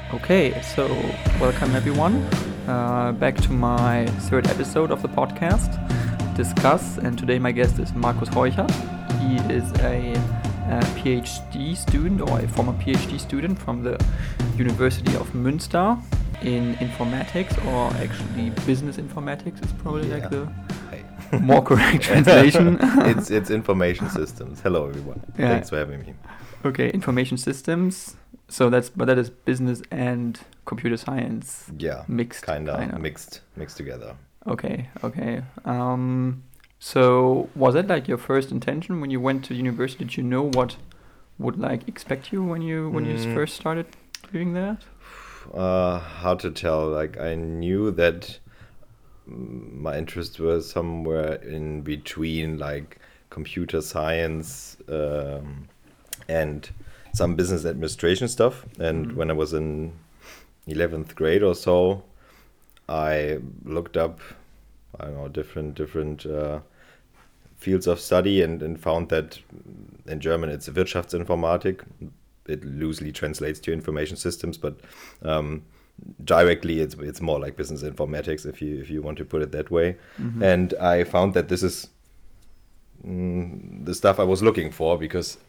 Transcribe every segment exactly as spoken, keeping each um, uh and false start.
Okay, so welcome everyone uh, back to my third episode of the podcast, Discuss. And today my guest is Markus Heuchert. He is a, a PhD student or a former PhD student from the University of Münster in informatics, or actually business informatics is probably Yeah. like the Hey. more correct translation. it's it's information systems. Hello everyone. Yeah. Thanks for having me. Okay, information systems. So that's but that is business and computer science Yeah. mixed. Kinda, kinda. mixed mixed together. Okay, okay. Um, so was that like your first intention when you went to university? Did you know what would like expect you when you when you Mm. first started doing that? Uh, how to tell? Like I knew that mm, my interests were somewhere in between, like computer science um, and some business administration stuff. And Mhm. when I was in eleventh grade or so, I looked up, I don't know, different different uh, fields of study and, and found that in German it's Wirtschaftsinformatik. It loosely translates to information systems, but um, directly it's it's more like business informatics if you if you want to put it that way. Mhm. And I found that this is mm, the stuff I was looking for, because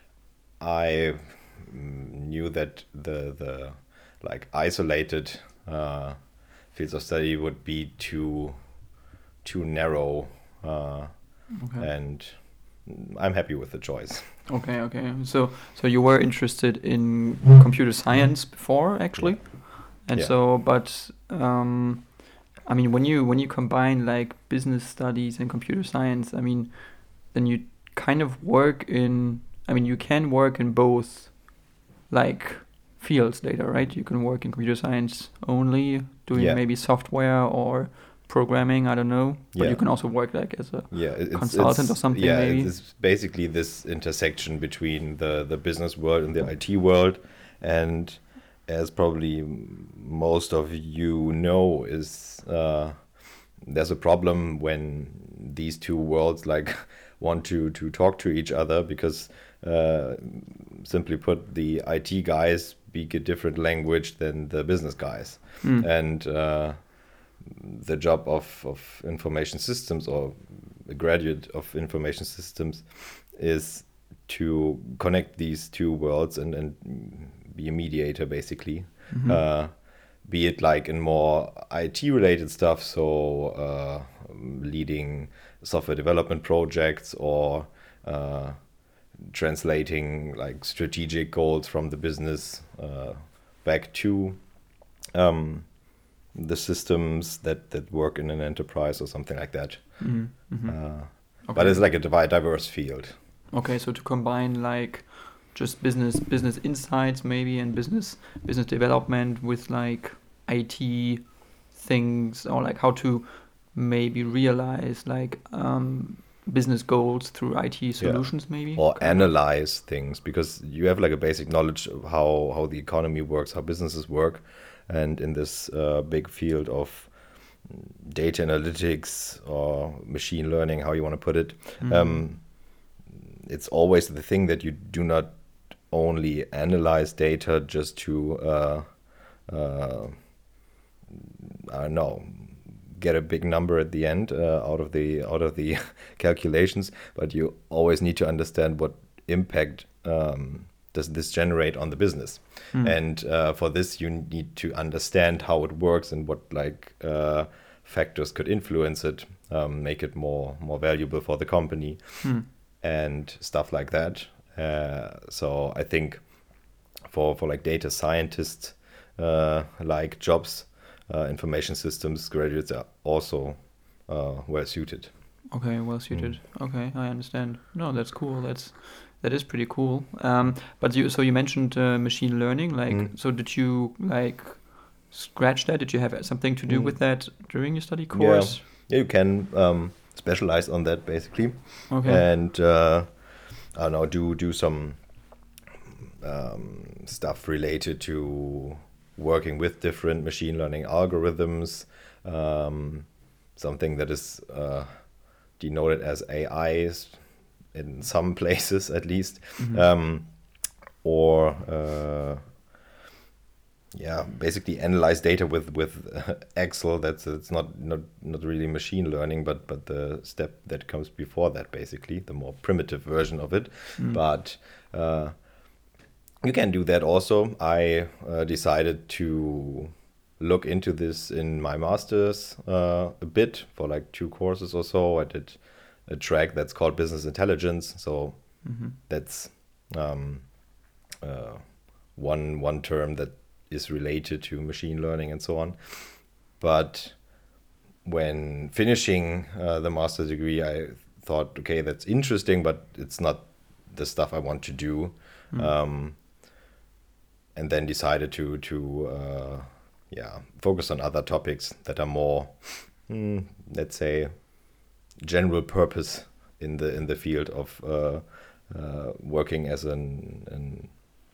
I mm, knew that the the like isolated uh, fields of study would be too too narrow, uh, Okay. and I'm happy with the choice. Okay, okay. So so you were interested in computer science before actually? And Yeah. so but um I mean when you when you combine like business studies and computer science, I mean then you kind of work in I mean you can work in both like fields later, right? You can work in computer science only doing Yeah. maybe software or programming, I don't know. But Yeah. you can also work like as a Yeah, it- it's, consultant it's, or something, yeah, maybe? it's basically this intersection between the, the business world and the I T world. And as probably m- most of you know, is uh, there's a problem when these two worlds like want to, to talk to each other, because uh, simply put, the I T guys speak a different language than the business guys. Mm. And uh, the job of, of information systems, or a graduate of information systems, is to connect these two worlds and, and be a mediator, basically. Mhm. Uh, be it like in more I T related stuff, so uh, leading software development projects, or uh, translating like strategic goals from the business uh, back to um, the systems that, that work in an enterprise or something like that. Mhm, mhm. Uh, Okay. But it's like a divi- diverse field. Okay, so to combine like just business business insights maybe and business business development with like I T things, or like how to maybe realize like um, business goals through I T solutions maybe. Or Kind of. analyze things, because you have like a basic knowledge of how, how the economy works, how businesses work. And in this uh, big field of data analytics or machine learning, how you want to put it, Mhm. um, it's always the thing that you do not only analyze data just to, uh, uh, I don't know, get a big number at the end uh, out of the out of the calculations, but you always need to understand what impact um, does this generate on the business. Mm. And uh, for this, you need to understand how it works and what like uh, factors could influence it, um, make it more more valuable for the company, Mm. and stuff like that. Uh, so I think for for like data scientists uh, like jobs, uh, information systems graduates are also uh, well suited. Okay, well suited. Okay, I understand. No, that's cool. That's that is pretty cool. Um, but you so you mentioned uh, machine learning. Like, Mm. so did you like scratch that? Did you have something to do Mm. with that during your study course? Yeah, you can um, specialize on that basically, Okay. and uh, I don't know, do do some um, stuff related to working with different machine learning algorithms, um, something that is uh, denoted as A Is in some places at least, Mhm. um, or uh, yeah, basically analyze data with with uh, Excel. That's it's not not not really machine learning, but but the step that comes before that, basically the more primitive version of it. Mm. But uh, you can do that also. I uh, decided to look into this in my master's uh, a bit for like two courses or so. I did a track that's called business intelligence. So Mm-hmm. that's um, uh, one one term that is related to machine learning and so on. But when finishing uh, the master's degree, I thought, okay, that's interesting, but it's not the stuff I want to do. Mm. Um, and then decided to to uh, yeah focus on other topics that are more, mm, let's say, general purpose in the in the field of uh, uh, working as an, an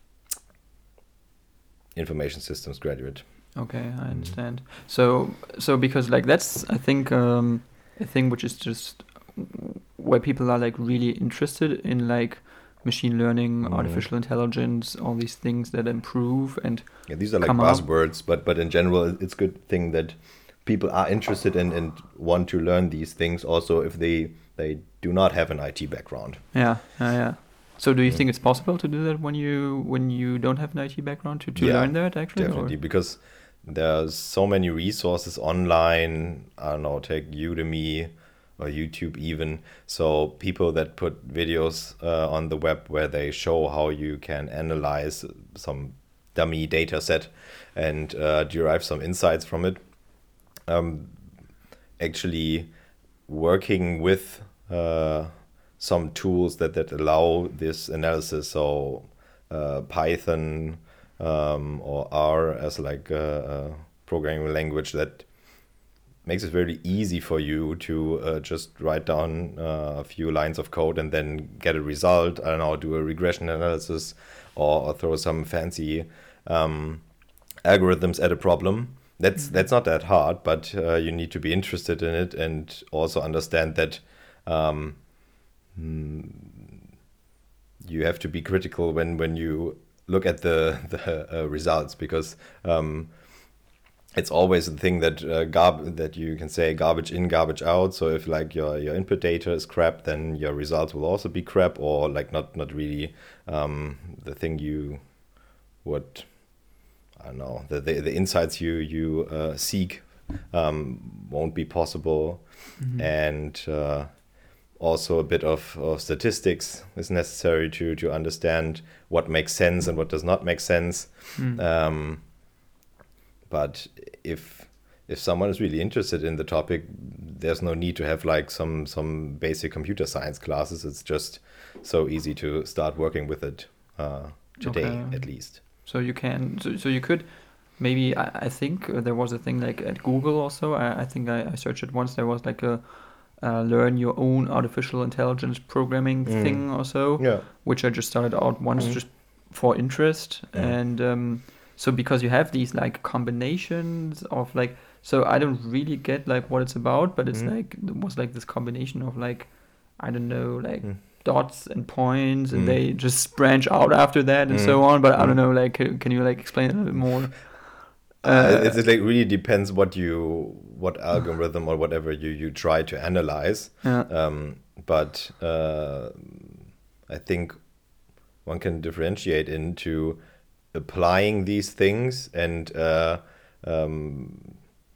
information systems graduate. Okay, I understand. So, so because like that's I think um, a thing which is just where people are like really interested in like machine learning, Mm. artificial intelligence, all these things that improve and Yeah, these are like come up. buzzwords, but but in general, it's a good thing that people are interested in and want to learn these things. Also, if they they do not have an I T background. Yeah, yeah, yeah. So, do you Mm. think it's possible to do that when you when you don't have an I T background to to Yeah, learn that actually? Definitely, Or? because there's so many resources online. I don't know, take Udemy or YouTube even. So people that put videos uh, on the web where they show how you can analyze some dummy data set and uh, derive some insights from it. Um, actually working with uh, some tools that, that allow this analysis. So uh, Python um, or R as like a, a programming language that makes it very easy for you to uh, just write down uh, a few lines of code and then get a result. I don't know, do a regression analysis or, or throw some fancy um, algorithms at a problem. That's Mhm. that's not that hard, but uh, you need to be interested in it and also understand that um, mm, you have to be critical when, when you look at the the uh, results, because um, it's always a thing that uh, garb that you can say garbage in, garbage out. So if like your, your input data is crap, then your results will also be crap, or like not not really um, the thing you would. I don't know, the, the, the insights you, you uh, seek um, won't be possible. Mhm. And uh, also a bit of, of statistics is necessary to, to understand what makes sense and what does not make sense. Mm. Um, but if if someone is really interested in the topic, there's no need to have like some, some basic computer science classes. It's just so easy to start working with it uh, today, Okay. at least. So you can, so, so you could, maybe I, I think uh, there was a thing like at Google also. I, I think I, I searched it once. There was like a uh, learn your own artificial intelligence programming Mm. thing or so, Yeah. which I just started out once Mm. just for interest. Yeah. And um, so because you have these like combinations of like, so I don't really get like what it's about, but it's Mm. like, it was like this combination of like, I don't know, like Mm. dots and points, and Mm. they just branch out after that and Mm. so on. But I don't Mm. know, like, can can you like explain it a little bit more? Uh, it, it like really depends what you what algorithm or whatever you, you try to analyze. Yeah. Um, but uh, I think one can differentiate into applying these things and uh, um,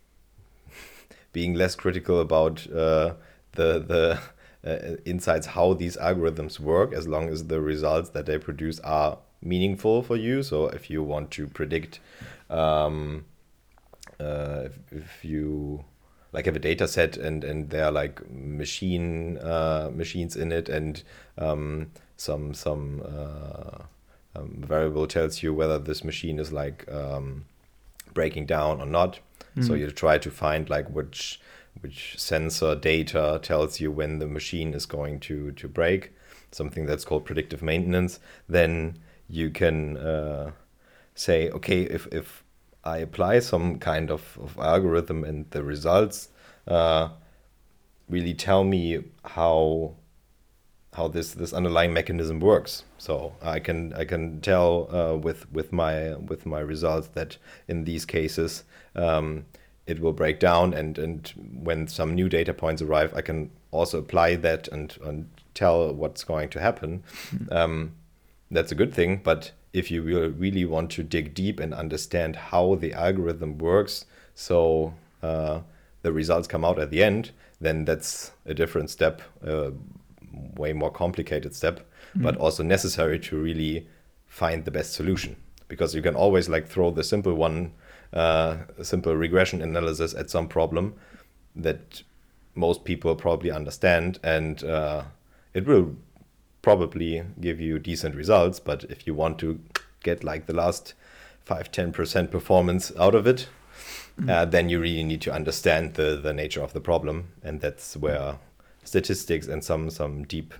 being less critical about uh, the the uh, insights, how these algorithms work, as long as the results that they produce are meaningful for you. So if you want to predict, um, uh, if, if you like have a data set and, and there are like machine uh, machines in it, and um, some some uh, um, variable tells you whether this machine is like um, breaking down or not. So Mm. you try to find like which which sensor data tells you when the machine is going to to break, something that's called predictive maintenance. Then you can uh, say, okay, if, if I apply some kind of, of algorithm and the results uh, really tell me how how this this underlying mechanism works. So I can I can tell uh, with with my with my results that in these cases um, it will break down, and and when some new data points arrive, I can also apply that and, and tell what's going to happen. Mm-hmm. Um, that's a good thing, but if you will really want to dig deep and understand how the algorithm works, so uh, the results come out at the end, then that's a different step, uh, way more complicated step, mm-hmm. but also necessary to really find the best solution. Because you can always like throw the simple one, uh, simple regression analysis at some problem that most people probably understand, and uh, it will probably give you decent results. But if you want to get like the last five, ten percent performance out of it, mm-hmm. uh, then you really need to understand the, the nature of the problem. And that's where statistics and some, some deep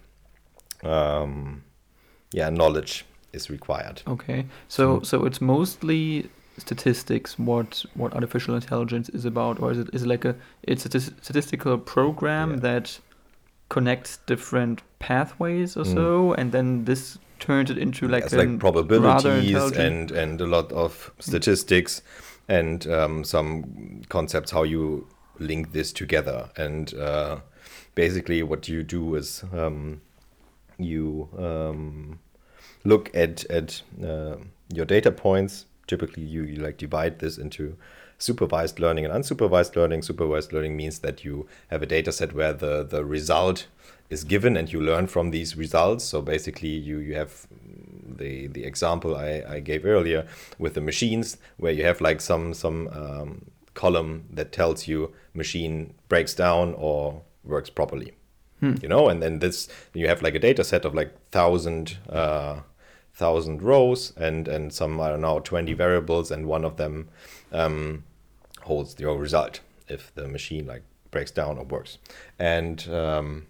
um, yeah, knowledge is required. Okay, so mm-hmm. so it's mostly statistics what what artificial intelligence is about, or is it is it like a it's a statistical program yeah. that connects different pathways or mm. so, and then this turns it into like, it's like probabilities and and a lot of statistics mm. and um, some concepts how you link this together. And uh, basically what you do is um, you um, look at at uh, your data points. Typically, you, you like divide this into supervised learning and unsupervised learning. Supervised learning means that you have a data set where the, the result is given and you learn from these results. So basically, you, you have the the example I, I gave earlier with the machines, where you have like some, some um, column that tells you machine breaks down or works properly. Hmm. You know, and then this you have like a data set of like thousand uh, thousand rows and and some I don't know twenty variables, and one of them um, holds your result if the machine like breaks down or works. And um,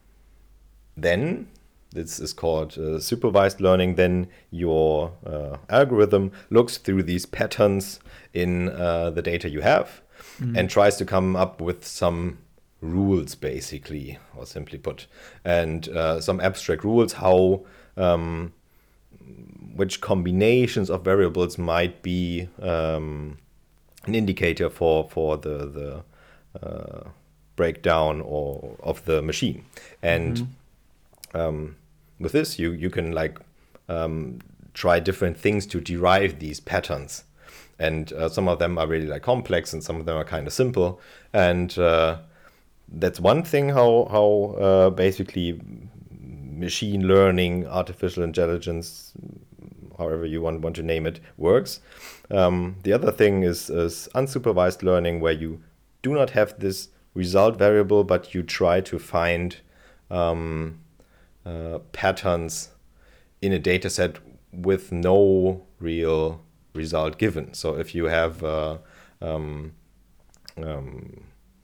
then this is called uh, supervised learning. Then your uh, algorithm looks through these patterns in uh, the data you have mm-hmm. and tries to come up with some rules, basically, or simply put, and uh, some abstract rules how um, which combinations of variables might be um, an indicator for for the the uh, breakdown or of the machine. And mm-hmm. um, with this, you you can like um, try different things to derive these patterns. And uh, some of them are really like complex, and some of them are kind of simple. And uh, that's one thing how how uh, basically machine learning, artificial intelligence, however you want, want to name it, works. Um, the other thing is, is unsupervised learning, where you do not have this result variable, but you try to find um, uh, patterns in a data set with no real result given. So if you have, uh, um, um,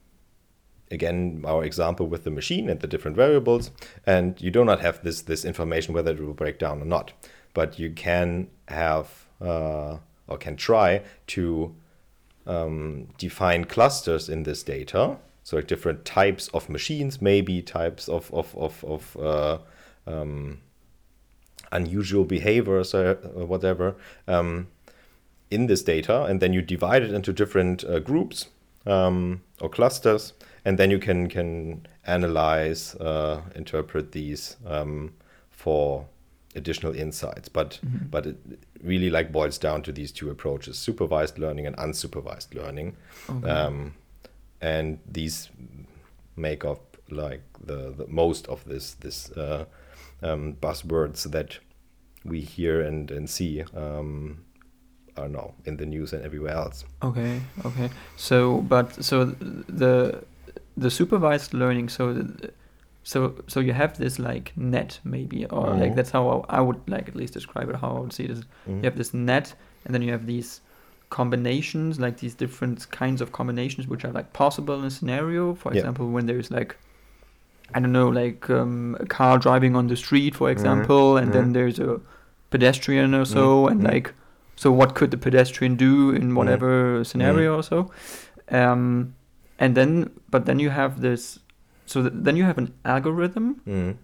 again, our example with the machine and the different variables, and you do not have this, this information whether it will break down or not. But you can have uh, or can try to um, define clusters in this data. So like different types of machines, maybe types of of of, of uh, um, unusual behaviors or whatever um, in this data, and then you divide it into different uh, groups um, or clusters, and then you can can analyze, uh, interpret these um, for additional insights, but mm-hmm. but it really like boils down to these two approaches: supervised learning and unsupervised learning. Okay. Um, and these make up like the, the most of this this uh, um, buzzwords that we hear and and see. Um, I don't know, in the news and everywhere else. Okay, okay. So, but so the the supervised learning. So. The, So so you have this like net maybe, or mm-hmm. like that's how I would like at least describe it, how I would see it. Is mm-hmm. you have this net, and then you have these combinations, like these different kinds of combinations which are like possible in a scenario. For yeah. example, when there's like, I don't know, like um, a car driving on the street, for example, mm-hmm. and mm-hmm. then there's a pedestrian or so, mm-hmm. and like, so what could the pedestrian do in whatever mm-hmm. scenario mm-hmm. or so? Um, and then, but then you have this. So th- then you have an algorithm, mm.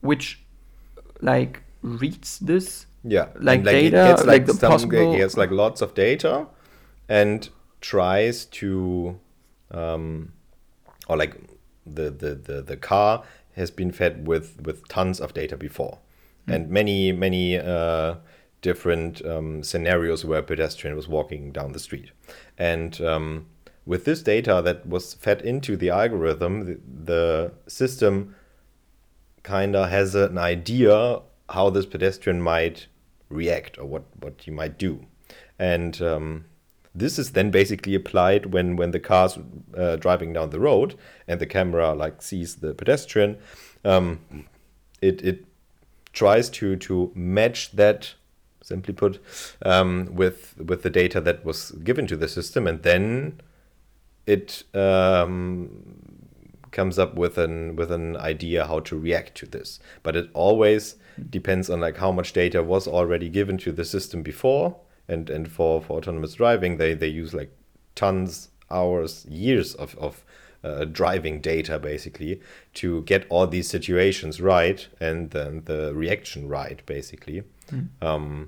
which like reads this Yeah, like and, like, it data, gets, like the some- possible. it gets like lots of data, and tries to, um, or like the, the, the, the car has been fed with, with tons of data before, and many many uh, different um, scenarios where a pedestrian was walking down the street, and um, with this data that was fed into the algorithm, the, the system kind of has an idea how this pedestrian might react or what, what he might do. And um, this is then basically applied when, when the car's uh, driving down the road and the camera like sees the pedestrian. Um, it, it tries to, to match that, simply put, um, with, with the data that was given to the system, and then it um, comes up with an with an idea how to react to this. But it always depends on like how much data was already given to the system before. And and for, for autonomous driving, they, they use like tons, hours, years of, of uh, driving data basically to get all these situations right and then the reaction right basically. Mm. Um,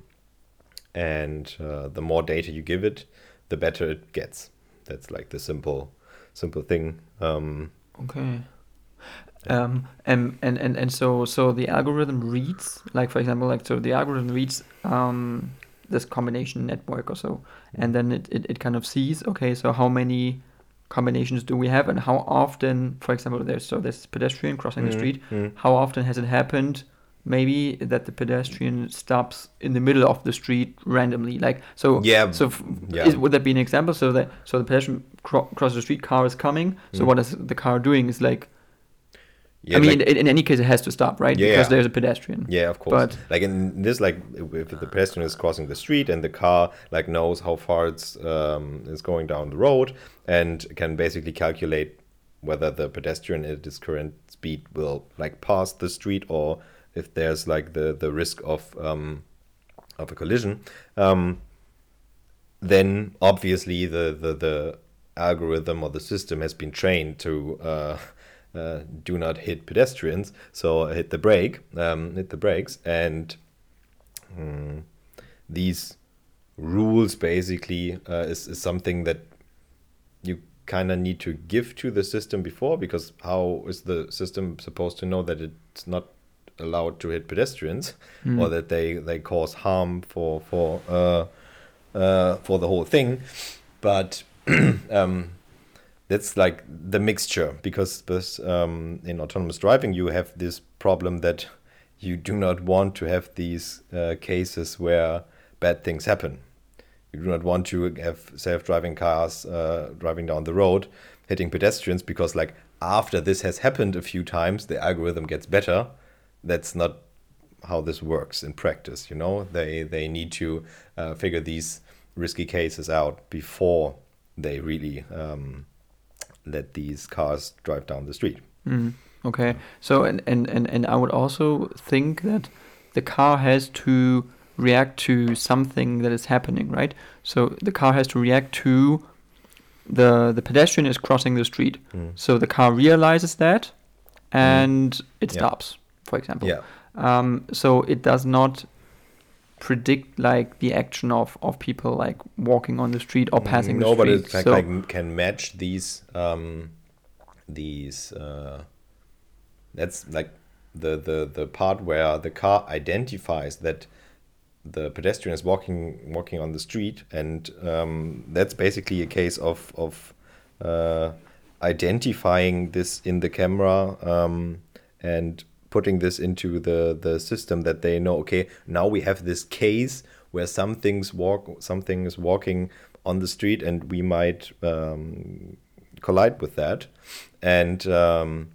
and uh, the more data you give it, the better it gets. That's like the simple simple thing. Um, Okay. Um, and, and, and, and so so the algorithm reads, like for example, like so the algorithm reads um, this combination network or so, and then it, it, it kind of sees, okay, so how many combinations do we have, and how often, for example, there's so there's pedestrian crossing the Mm, street, mm. how often has it happened? Maybe that the pedestrian stops in the middle of the street randomly, like so. Yeah, So f- yeah. is, would that be an example? So that so the pedestrian cro- crosses the street, car is coming. So Mm. what is the car doing? Is like, Yeah, I mean, like- in, in any case, it has to stop, right? Yeah, Because yeah. there's a pedestrian. Yeah, of course. But- like in this, like if the pedestrian is crossing the street and the car like knows how far it's um, is going down the road and can basically calculate whether the pedestrian at its current speed will like pass the street or if there's like the the risk of um, of a collision. Um, then obviously the, the the algorithm or the system has been trained to uh, uh, do not hit pedestrians, so hit the brake, um, hit the brakes, and mm, these rules basically uh, is, is something that you kind of need to give to the system before, because how is the system supposed to know that it's not allowed to hit pedestrians Mm. or that they, they cause harm for for uh, uh, for the whole thing? But um, that's like the mixture, because this, um, in autonomous driving you have this problem that you do not want to have these uh, cases where bad things happen. You do not want to have self-driving cars uh, driving down the road hitting pedestrians, because like after this has happened a few times the algorithm gets better. That's not how this works in practice, you know. They they need to uh, figure these risky cases out before they really um, let these cars drive down the street. Mm, okay. So and, and, and, and I would also think that the car has to react to something that is happening, right? So the car has to react to the the pedestrian is crossing the street. Mm. So the car realizes that and it Yeah. stops, for example. Yeah. Um, so it does not predict like the action of, of people like walking on the street or passing no, the but street. it can, so, like, can match these um, these. Uh, that's like the, the the part where the car identifies that the pedestrian is walking walking on the street, and um, that's basically a case of of uh, identifying this in the camera um, and putting this into the the system, that they know, okay, now we have this case where something's walk something is walking on the street and we might um, collide with that, and um,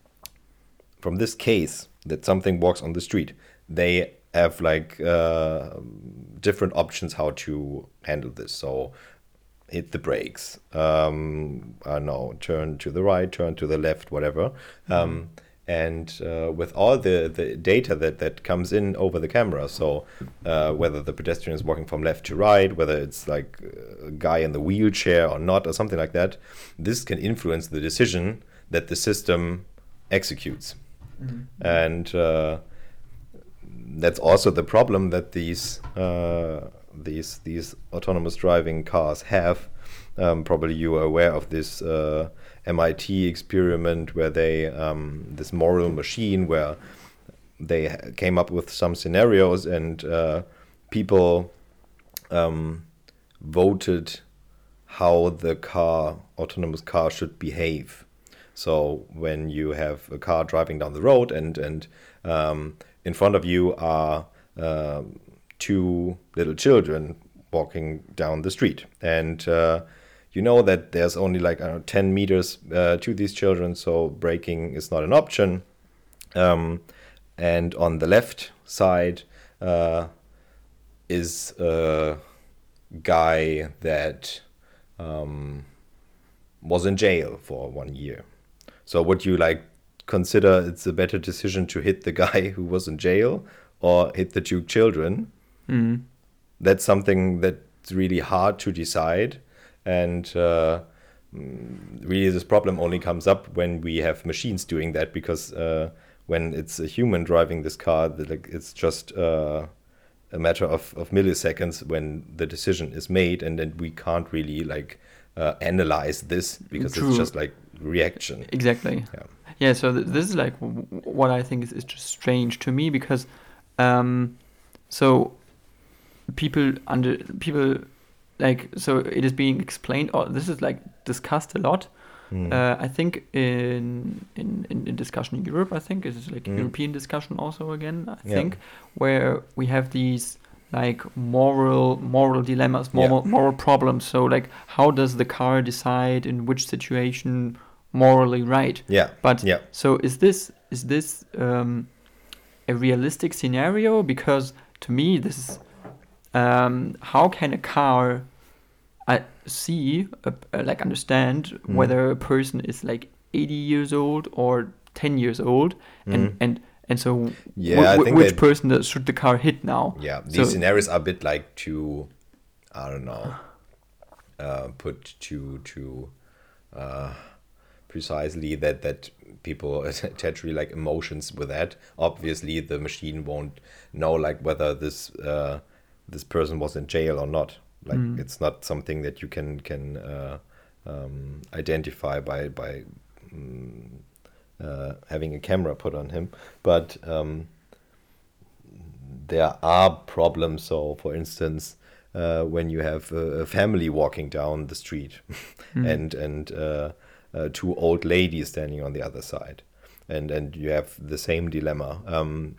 from this case that something walks on the street, they have like uh, different options how to handle this. So hit the brakes, um, I don't know, turn to the right, turn to the left, whatever. Mm-hmm. Um, and uh, with all the, the data that, that comes in over the camera, so uh, whether the pedestrian is walking from left to right, whether it's like a guy in the wheelchair or not, or something like that, this can influence the decision that the system executes. Mm-hmm. And uh, that's also the problem that these uh, these these autonomous driving cars have. Um, probably you are aware of this uh, M I T experiment where they um, this moral machine where they came up with some scenarios and uh, people um, voted how the car autonomous car should behave. So when you have a car driving down the road and and um, in front of you are uh, two little children walking down the street, and uh, you know that there's only like I don't know, ten meters uh, to these children, so braking is not an option. Um, and on the left side uh, is a guy that um, was in jail for one year. So would you like consider it's a better decision to hit the guy who was in jail or hit the two children? Mm. That's something that's really hard to decide. And uh, really this problem only comes up when we have machines doing that, because uh, when it's a human driving this car, the, like, it's just uh, a matter of, of milliseconds when the decision is made, and then we can't really like uh, analyze this because True. It's just like reaction. Exactly. Yeah. Yeah. So th- this is like w- what I think is, is just strange to me, because um, so people under people. Like, so it is being explained, or this is like discussed a lot. Mm. Uh, I think in, in in discussion in Europe, I think it is like mm. European discussion also again. I yeah. think where we have these like moral moral dilemmas, moral yeah. moral problems. So like, how does the car decide in which situation morally right? Yeah. But yeah. so is this is this um, a realistic scenario? Because to me, this is um, how can a car I see, uh, uh, like understand mm. whether a person is like eighty years old or ten years old, mm. and and and so yeah, w- I w- think which person does, should the car hit now? Yeah, these so, scenarios are a bit like to, I don't know, uh, put to to uh, precisely that that people attach really like emotions with that. Obviously, the machine won't know like whether this uh, this person was in jail or not. Like mm. it's not something that you can can uh, um, identify by by um, uh, having a camera put on him. But um, there are problems. So, for instance, uh, when you have a, a family walking down the street, mm. and and uh, uh, two old ladies standing on the other side, and and you have the same dilemma. Um,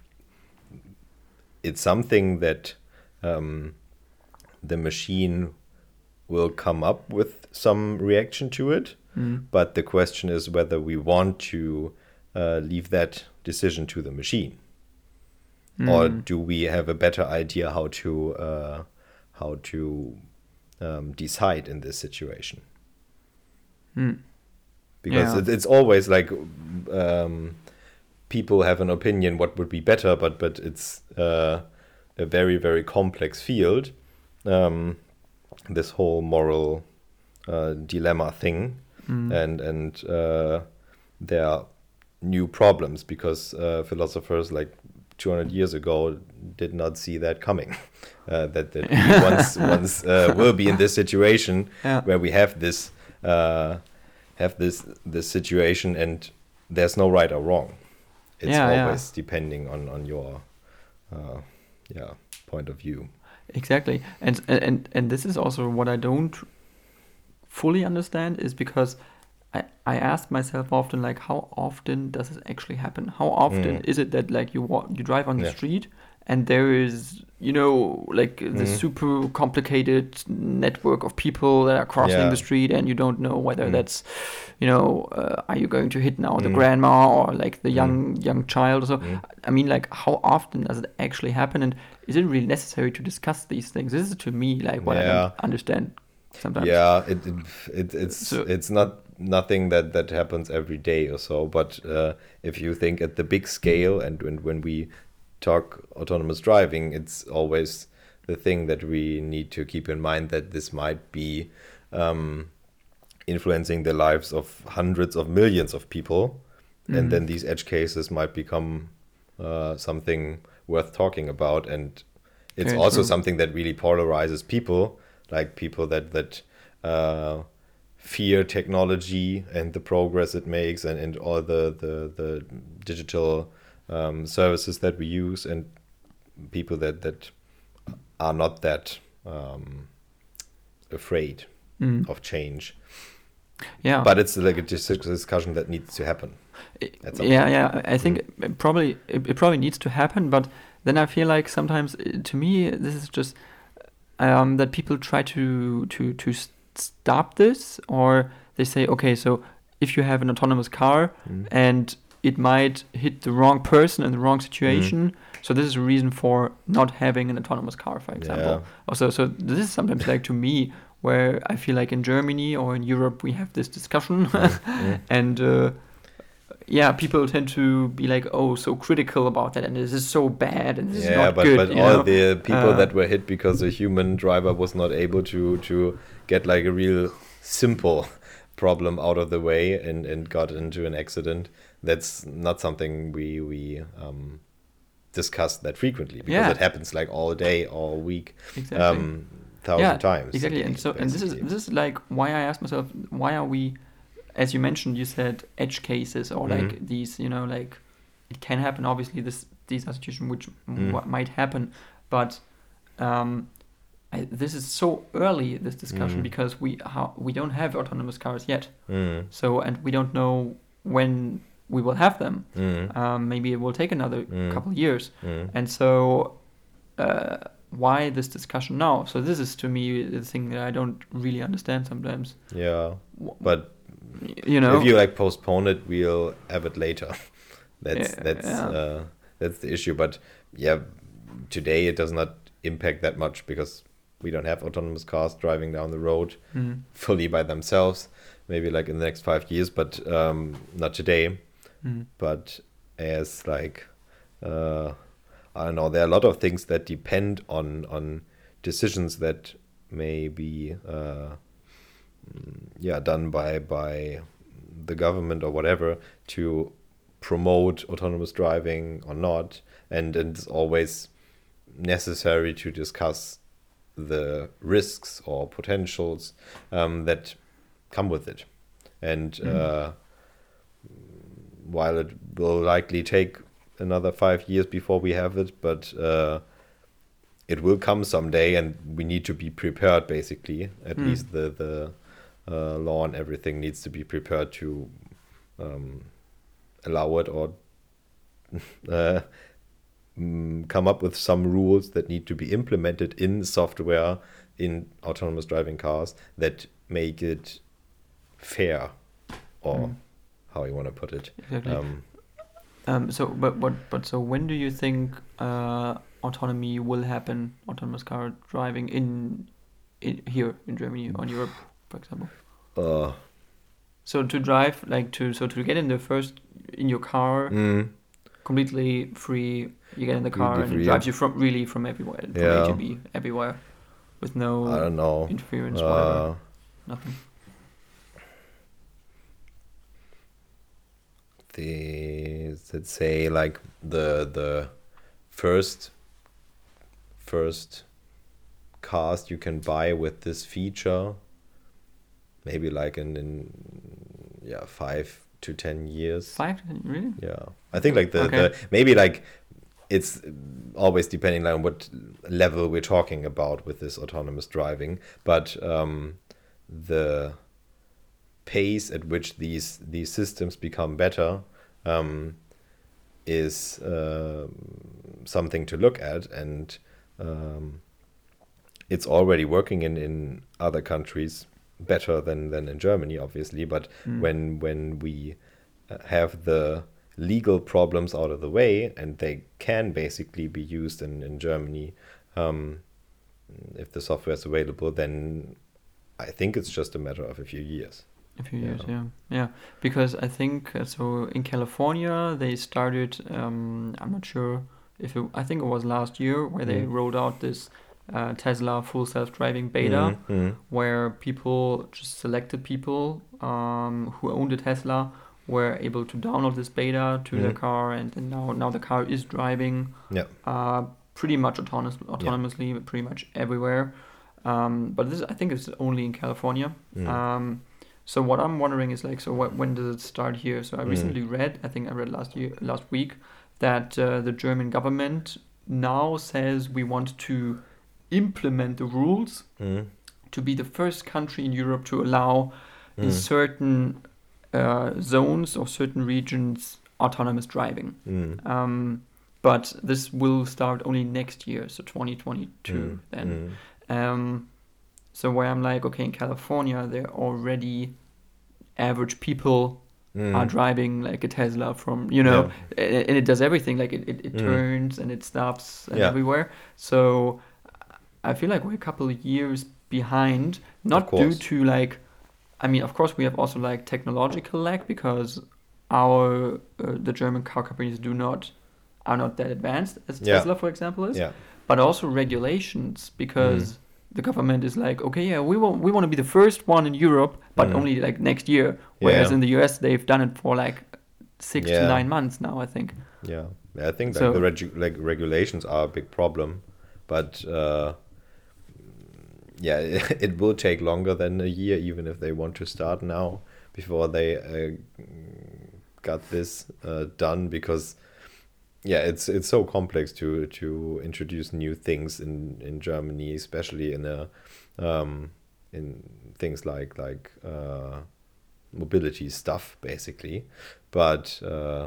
it's something that. Um, the machine will come up with some reaction to it, mm. but the question is whether we want to uh, leave that decision to the machine, mm. or do we have a better idea how to uh, how to um, decide in this situation? Mm. Because yeah. it, it's always like um, people have an opinion what would be better, but but it's uh, a very very complex field. Um, this whole moral uh, dilemma thing, mm. and and uh, there are new problems because uh, philosophers like two hundred years ago did not see that coming. Uh, that that we once once uh, will be in this situation yeah. where we have this uh, have this this situation, and there's no right or wrong. It's yeah, always yeah. depending on on your uh, yeah point of view. Exactly, and and and this is also what I don't fully understand, is because I I ask myself often, like, how often does this actually happen? How often mm. is it that like you walk, you drive on the yeah. street and there is, you know, like the mm. super complicated network of people that are crossing yeah. the street, and you don't know whether mm. that's, you know, uh, are you going to hit now the mm. grandma or like the young mm. young child or so? Mm. I mean, like, how often does it actually happen, and is it really necessary to discuss these things? This is to me like what yeah. I don't understand sometimes. Yeah, it, it, it it's so, it's not nothing that, that happens every day or so. But uh, if you think at the big scale, and when when we talk autonomous driving, it's always the thing that we need to keep in mind, that this might be um, influencing the lives of hundreds of millions of people. and Mhm. then these edge cases might become uh, something worth talking about. And it's Very also true. something that really polarizes people, like people that that uh, fear technology and the progress it makes, and, and all the the, the digital um, services that we use, and people that that are not that um, afraid Mm. of change. Yeah. But it's like a dis- discussion that needs to happen. at some Yeah, point. yeah. I think it probably it, it probably needs to happen, but then I feel like sometimes, uh, to me, this is just um, that people try to to to s- stop this, or they say, okay, so if you have an autonomous car Mm. and it might hit the wrong person in the wrong situation, so this is a reason for not having an autonomous car, for example. Yeah. Also, so this is sometimes like, to me, where I feel like in Germany or in Europe we have this discussion, Mm. and uh, yeah, people tend to be like, oh, so critical about that, and this is so bad, and this is Yeah, not but good. but you all know? the people Uh, that were hit because a human driver was not able to to get like a real simple problem out of the way and and got into an accident, that's not something we we um discuss that frequently, because Yeah. it happens like all day, all week, Exactly. um thousand yeah, times a exactly. day, And so, and this is basically. this is like why I asked myself, why are we, as you mentioned, you said edge cases, or like Mhm. these, you know, like it can happen. Obviously, this these are situations which Mm. w- might happen, but um, I, this is so early, this discussion, Mm. because we how, we don't have autonomous cars yet. Mm. So, and we don't know when we will have them. Mm. Um, maybe it will take another Mm. couple of years. Mm. And so, uh, why this discussion now? So this is, to me, the thing that I don't really understand sometimes. Yeah, W- but You know, if you like postpone it, we'll have it later. That's Yeah, that's yeah. uh, that's the issue. But yeah, today it does not impact that much, because we don't have autonomous cars driving down the road Mm. fully by themselves. Maybe like in the next five years, but um, not today. Mm. But as like uh, I don't know, there are a lot of things that depend on on decisions that may be uh, mm, yeah done by by the government or whatever to promote autonomous driving or not, and, and it's always necessary to discuss the risks or potentials um, that come with it. And Mm. uh, while it will likely take another five years before we have it, but uh, it will come someday, and we need to be prepared. Basically, at Mm. least the the uh, law and everything needs to be prepared to um, allow it, or uh, mm, come up with some rules that need to be implemented in software in autonomous driving cars that make it fair, or Mm. how you want to put it. Exactly. Um, Um, so, but, but, but, so when do you think uh, autonomy will happen, autonomous car driving in, in here in Germany or in Europe, for example? uh, So to drive, like to, so to get in the first, in your car, mm, completely free, you get in the car Completely and free, it yeah. drives you from, really from everywhere, from Yeah. A to B, everywhere, with no I don't know. interference, whatever, Uh, nothing. the let's say like the the first first cars you can buy with this feature, maybe like in, in yeah five to ten years. Five, really? Yeah, I think like the, Okay. the maybe like it's always depending on what level we're talking about with this autonomous driving, but um, the pace at which these these systems become better um, is uh, something to look at, and um, it's already working in, in other countries better than, than in Germany, obviously. But Mm. when when we uh, have the legal problems out of the way, and they can basically be used in, in Germany, um, if the software is available, then I think it's just a matter of a few years. A few Yeah. years, yeah, yeah. Because I think uh, so. In California, they started. Um, I'm not sure if it, I think it was last year where they Mm. rolled out this uh, Tesla full self-driving beta, Mm, mm, where people just selected people um, who owned a Tesla were able to download this beta to Mhm. their car, and, and now now the car is driving Yeah. uh, pretty much autonomous, autonomously, pretty much everywhere. Um, but this, I think, is only in California. Mm. Um, so what I'm wondering is like, so what, when does it start here? So I Mm. recently read, I think I read last year, last week, that uh, the German government now says we want to implement the rules Mm. to be the first country in Europe to allow in Mm. certain uh, zones or certain regions autonomous driving. Mm. Um, but this will start only next year, so twenty twenty-two Mm. then. Mm. Um, so where I'm like, okay, in California, they're already average people Mm. are driving like a Tesla from, you know, a- and it does everything. Like it, it, it Mm. turns and it stops and Yeah. everywhere. So I feel like we're a couple of years behind, not due course. to like, I mean, of course we have also like technological lag because our, uh, the German car companies do not, are not that advanced as Yeah. Tesla, for example, is. Yeah. But also regulations because Mm. the government is like, okay, yeah, we want we want to be the first one in Europe, but Mm. only like next year. Whereas Yeah. in the U S they've done it for like six Yeah. to nine months now, I think. Yeah, I think like So- the regu- like regulations are a big problem, but uh, yeah, it will take longer than a year, even if they want to start now before they uh, got this uh, done. Because yeah, it's it's so complex to to introduce new things in in Germany, especially in a um, in things like like uh, mobility stuff, basically. But uh,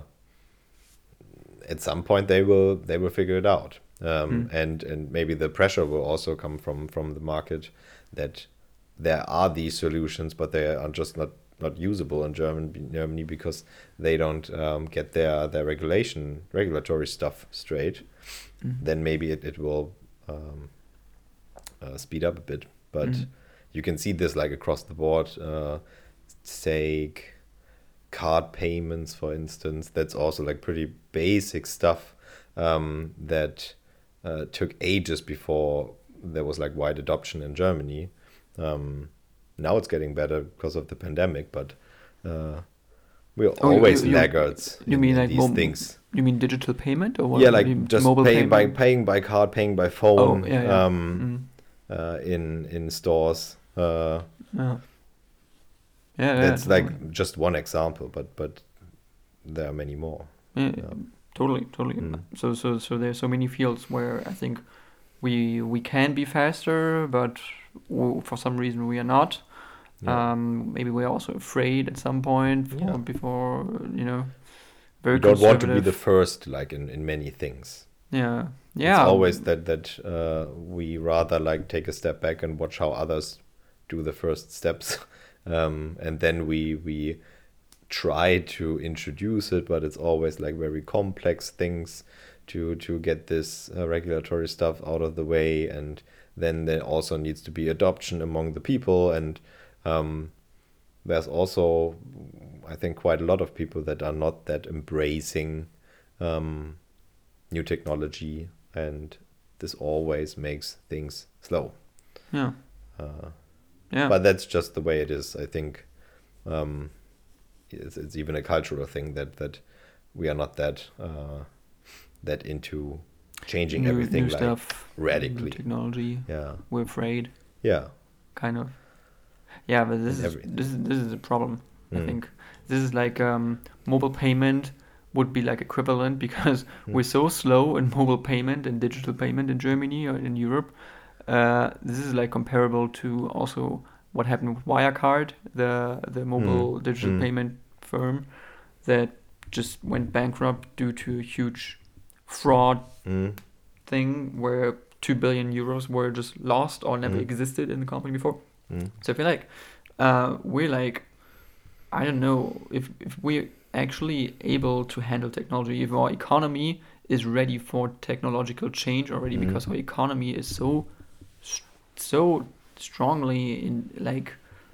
at some point they will they will figure it out, um, Mm. and and maybe the pressure will also come from from the market that there are these solutions, but they are just not not usable in German Germany because they don't um, get their their regulation regulatory stuff straight. Mhm. Then maybe it it will um, uh, speed up a bit, but Mhm. you can see this like across the board. Uh, take card payments, for instance. That's also like pretty basic stuff um, that uh, took ages before there was like wide adoption in Germany. Um, now it's getting better because of the pandemic, but uh, we're Oh, you- always you- you- laggards you in, mean in like these mo- things. You mean digital payment or what? Yeah, You like mean just mobile paying by payment? paying by card, paying by phone, Oh, yeah, yeah. um, Mm. uh, in in stores. Uh, Yeah. Yeah, yeah, that's totally. like just one example, but but there are many more. Yeah, Yeah. totally, totally. Mm. So, so, so there's so many fields where I think we we can be faster, but w- for some reason we are not. Yeah. Um, maybe we're also afraid at some point for, Yeah. before you know. Very We don't want to be conservative. the first, like in, in many things. Yeah, yeah. It's always that that uh, we rather like take a step back and watch how others do the first steps, um, and then we we try to introduce it, but it's always like very complex things to to get this uh, regulatory stuff out of the way, and then there also needs to be adoption among the people, and um, there's also, I think, quite a lot of people that are not that embracing um, new technology, and this always makes things slow. Yeah, Uh, yeah. But that's just the way it is. I think um, it's, it's even a cultural thing that, that we are not that uh, that into changing new, everything new like stuff, new radically. technology. Yeah, We're afraid, yeah, kind of. Yeah, but this is Every- this is this is a problem. I Mm. think this is like um, mobile payment would be like equivalent because Mm. we're so slow in mobile payment and digital payment in Germany or in Europe. Uh, this is like comparable to also what happened with Wirecard, the the mobile Mm. digital Mm. payment firm that just went bankrupt due to a huge fraud Mm. thing where two billion euros were just lost or never Mm. existed in the company before. Mm. So I feel like uh, we're like, I don't know if, if we're actually able to handle technology, if our economy is ready for technological change already, Mhm. because our economy is so s- so strongly in like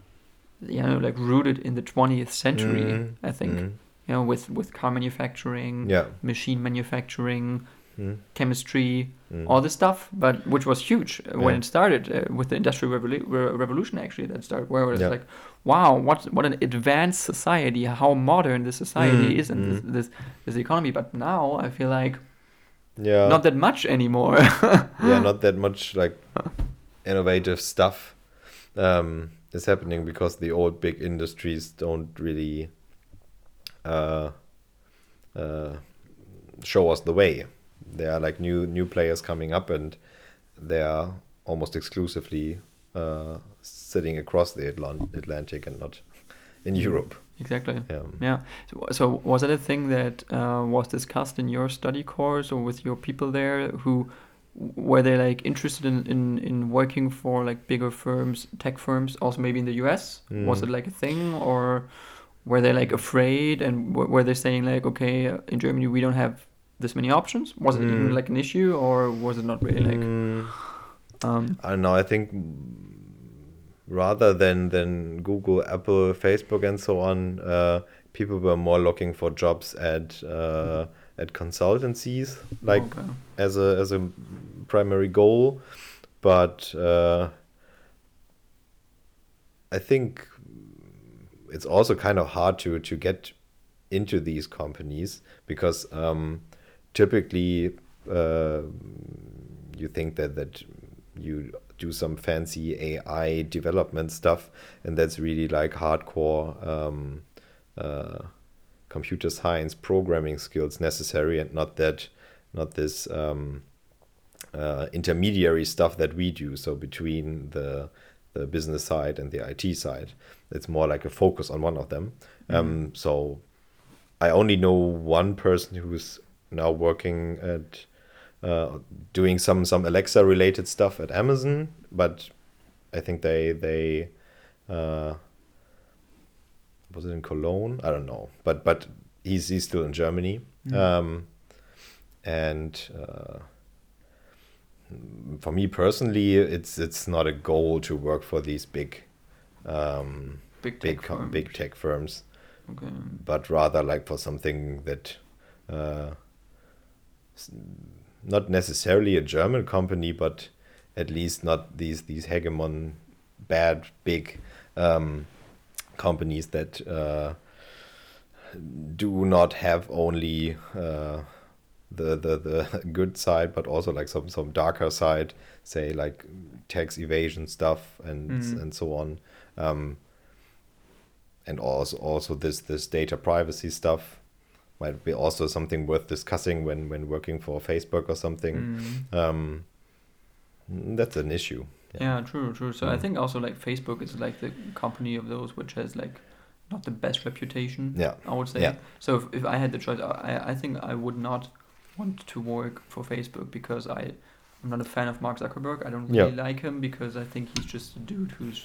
you know like rooted in the twentieth century. Mm. I think Mm. you know with with car manufacturing, Yeah. machine manufacturing, Mm. chemistry, Mm. all this stuff, but which was huge uh, when Yeah. it started uh, with the industrial revolu- re- revolution. Actually, that started where it was Yeah. like, wow, what what an advanced society, how modern this society Mm, is, and mm. this, this this economy. But now I feel like Yeah. not that much anymore. Yeah, not that much like innovative stuff um, is happening because the old big industries don't really uh, uh, show us the way. There are like new new players coming up, and they are almost exclusively uh, sitting across the Atlant- Atlantic and not in Europe. Exactly. Yeah. Yeah. So, so was it a thing that uh, was discussed in your study course or with your people there who were they like interested in, in, in working for like bigger firms, tech firms, also maybe in the U S? Mm. Was it like a thing, or were they like afraid, and w- were they saying like, okay, uh, in Germany we don't have this many options? Was it even Mm. like an issue, or was it not really like? Mm, Um, I don't know. I think rather than than Google, Apple, Facebook, and so on, uh, people were more looking for jobs at uh, at consultancies, like okay. as a as a primary goal. But uh, I think it's also kind of hard to to get into these companies because um, typically uh, you think that that you do some fancy A I development stuff, and that's really like hardcore um, uh, computer science programming skills necessary, and not that not this um, uh, intermediary stuff that we do. So between the the business side and the I T side, it's more like a focus on one of them. Mhm. Um, so I only know one person who's now working at uh, doing some some Alexa related stuff at Amazon, but I think they they uh, was it in Cologne? I don't know, but but he's he's still in Germany, Mm. um, and uh, for me personally, it's it's not a goal to work for these big um, Big tech big com- firms. big tech firms, Okay. but rather like for something that uh, s- not necessarily a German company, but at least not these these hegemon bad big um, companies that uh, do not have only uh, the, the the good side, but also like some some darker side, say like tax evasion stuff and Mhm. and so on. Um, and also also this this data privacy stuff might be also something worth discussing when when working for Facebook or something. Mm. Um, that's an issue. Yeah, true, true. So I Mm. think also like Facebook is like the company of those which has like not the best reputation. Yeah. I would say. Yeah. So if, if I had the choice, I I think I would not want to work for Facebook because I I'm not a fan of Mark Zuckerberg. I don't really Yeah. like him because I think he's just a dude who's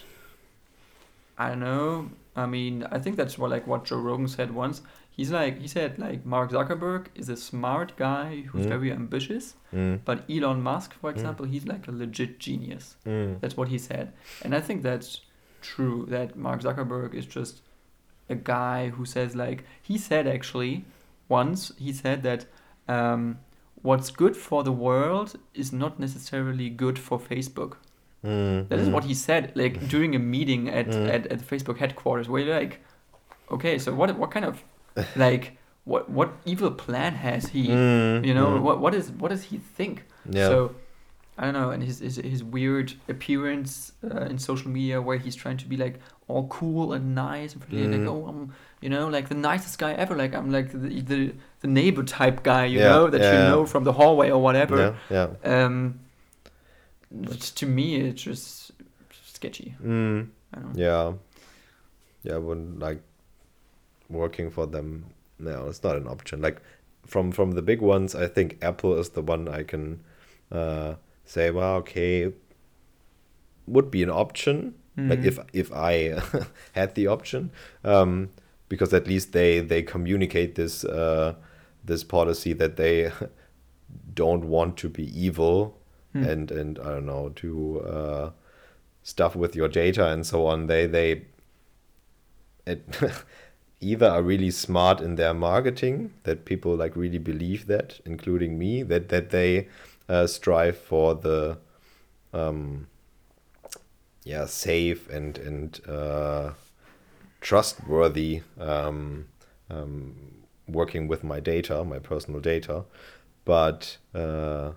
I don't know. I mean, I think that's what like what Joe Rogan said once. He's like he said like Mark Zuckerberg is a smart guy who's Mm. very ambitious, Mm. but Elon Musk, for example, he's like a legit genius. Mm. That's what he said. And I think that's true, that Mark Zuckerberg is just a guy who says, like, he said actually once, he said that um, what's good for the world is not necessarily good for Facebook. Mm. That is Mm. what he said, like, during a meeting at, Mm. at, at Facebook headquarters, where you're like, okay, so what what kind of, like, what what evil plan has he? Mm. You know, Mm. what what is what does he think? Yeah. So I don't know, and his his, his weird appearance uh, in social media where he's trying to be like all cool and nice and pretty, and Mm. like, oh, I'm you know like the nicest guy ever, like I'm like the the, the neighbor type guy, you Yeah, know, that yeah, you yeah. know from the hallway or whatever. Yeah. Yeah. Um, but to me, it's just sketchy. Mm. I don't know. Yeah. Yeah, I wouldn't like working for them. No, it's not an option. Like from from the big ones, I think Apple is the one I can uh, say, well, okay, would be an option. Like Mhm. if if I had the option, um, because at least they they communicate this uh, this policy that they don't want to be evil Hmm. and and I don't know to uh, stuff with your data and so on. They they it, either are really smart in their marketing, that people like really believe that, including me, that that they uh, strive for the um, yeah safe and and uh, trustworthy um, um, working with my data, my personal data, but uh,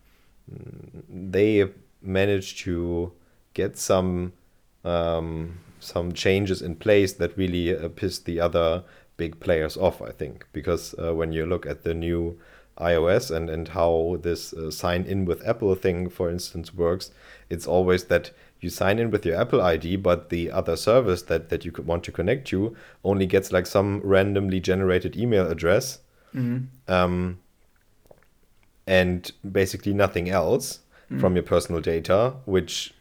they managed to get some um, some changes in place that really uh, pissed the other big players off, I think, because uh, when you look at the new iOS and, and how this uh, sign in with Apple thing, for instance, works, it's always that you sign in with your Apple I D, but the other service that, that you could want to connect to only gets like some randomly generated email address Mm-hmm. um, and basically nothing else Mm. from your personal data, which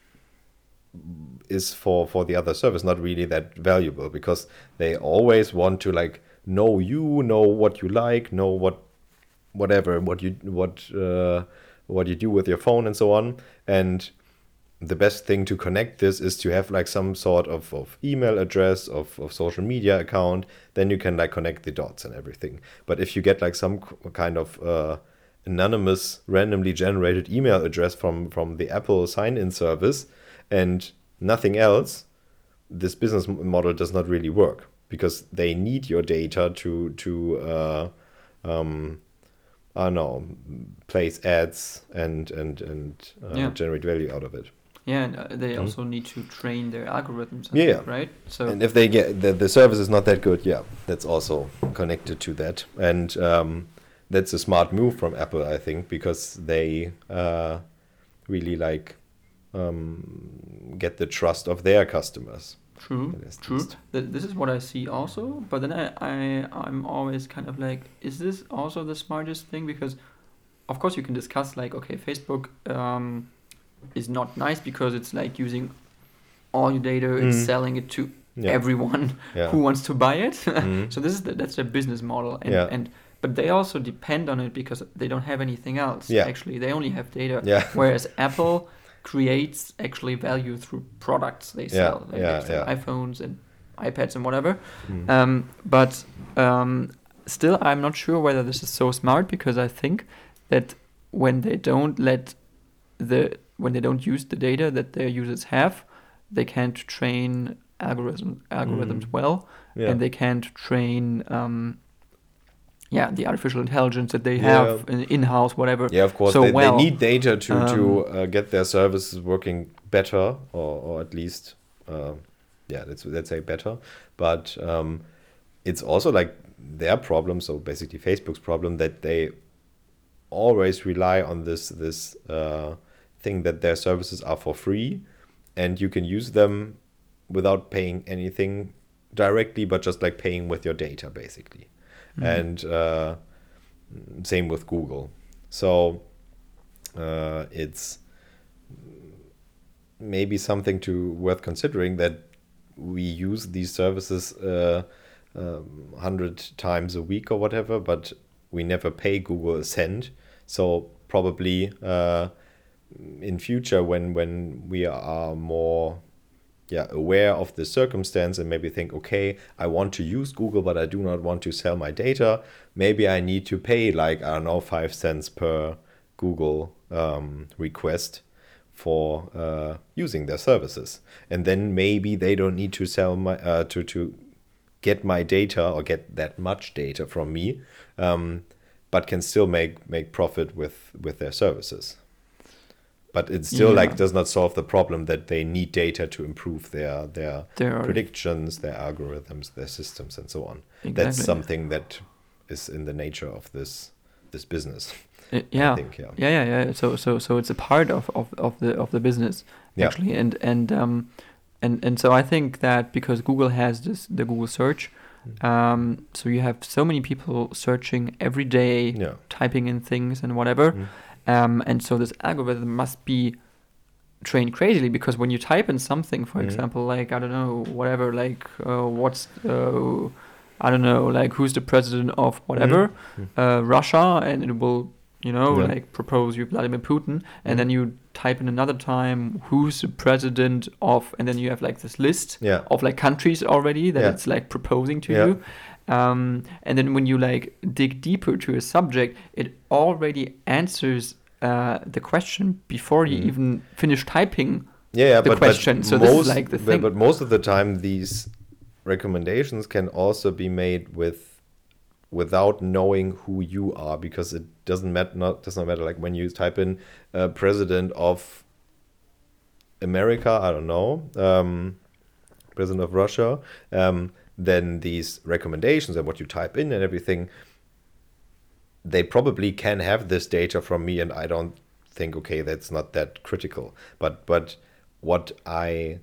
is for for the other service not really that valuable, because they always want to like know you, know what you like, know what whatever what you what uh, what you do with your phone and so on. And the best thing to connect this is to have like some sort of, of email address, of, of social media account. Then you can like connect the dots and everything. But if you get like some k- kind of uh, anonymous randomly generated email address from from the Apple sign-in service and nothing else, this business m- model does not really work, because they need your data to to uh, um, I don't know, place ads and and and uh, Yeah. generate value out of it. Yeah, and uh, they Mhm. also need to train their algorithms, I Yeah, think, right? So And if they get the, the service is not that good, yeah, that's also connected to that. And um, that's a smart move from Apple, I think, because they uh, really like um, get the trust of their customers. true, At least- true. Th- this is what I see also. But then I, I, I'm always kind of like, is this also the smartest thing? Because, of course, you can discuss like, okay, Facebook um, is not nice because it's like using all your data, it's Mm. selling it to Yeah. everyone Yeah. who wants to buy it. Mhm. So this is the, that's their business model, and Yeah. and but they also depend on it because they don't have anything else. Yeah. Actually, they only have data. Yeah. Whereas Apple creates actually value through products they Yeah, sell, like yeah, they sell yeah. iPhones and iPads and whatever. Mm. Um, but um, still, I'm not sure whether this is so smart, because I think that when they don't let the when they don't use the data that their users have, they can't train algorithm algorithms Mm. well, Yeah. and they can't train um, yeah the artificial intelligence that they Yeah. have in, in-house, whatever. Yeah, of course. So they, well, they need data to, to um, uh, get their services working better, or, or at least, uh, yeah, let's, let's say better. But um, it's also like their problem, so basically Facebook's problem, that they always rely on this this uh, thing that their services are for free, and you can use them without paying anything directly, but just like paying with your data, basically. Mhm. And uh, same with Google. So uh, it's maybe something to worth considering, that we use these services uh, um, hundred times a week or whatever, but we never pay Google a cent. So probably uh, in future, when when we are more yeah aware of the circumstance and maybe think, okay, I want to use Google, but I do not want to sell my data, maybe I need to pay like, I don't know, five cents per Google um, request for uh, using their services. And then maybe they don't need to sell my uh, to to get my data or get that much data from me, um, but can still make make profit with with their services. But it still Yeah. like does not solve the problem that they need data to improve their their There are- predictions, their algorithms, their systems, and so on. Exactly. That's something that is in the nature of this this business. Uh, yeah. I think, yeah. yeah, yeah, yeah. So, so, so it's a part of, of, of the of the business Yeah. actually, and and um, and and so I think that because Google has this the Google search, um, so you have so many people searching every day, Yeah. typing in things and whatever, Mm. um, and so this algorithm must be trained crazily, because when you type in something, for Mhm. example, like I don't know, whatever, like uh, what's uh, I don't know, like who's the president of whatever, Mhm. uh, Russia, and it will you know, Yeah. like propose you Vladimir Putin, and Mhm. then you type in another time who's the president of, and then you have like this list Yeah. of like countries already that Yeah. it's like proposing to Yeah. you. Um, and then when you like dig deeper to a subject, it already answers uh, the question before you Mm. even finish typing. Yeah, yeah, the but, question. But So most, this is like the but, thing. but most of the time, these recommendations can also be made with without knowing who you are, because it doesn't matter. Not does not matter. Like when you type in uh, president of America, I don't know, um, president of Russia, um, then these recommendations and what you type in and everything, they probably can have this data from me, and I don't think, okay, that's not that critical. But but what I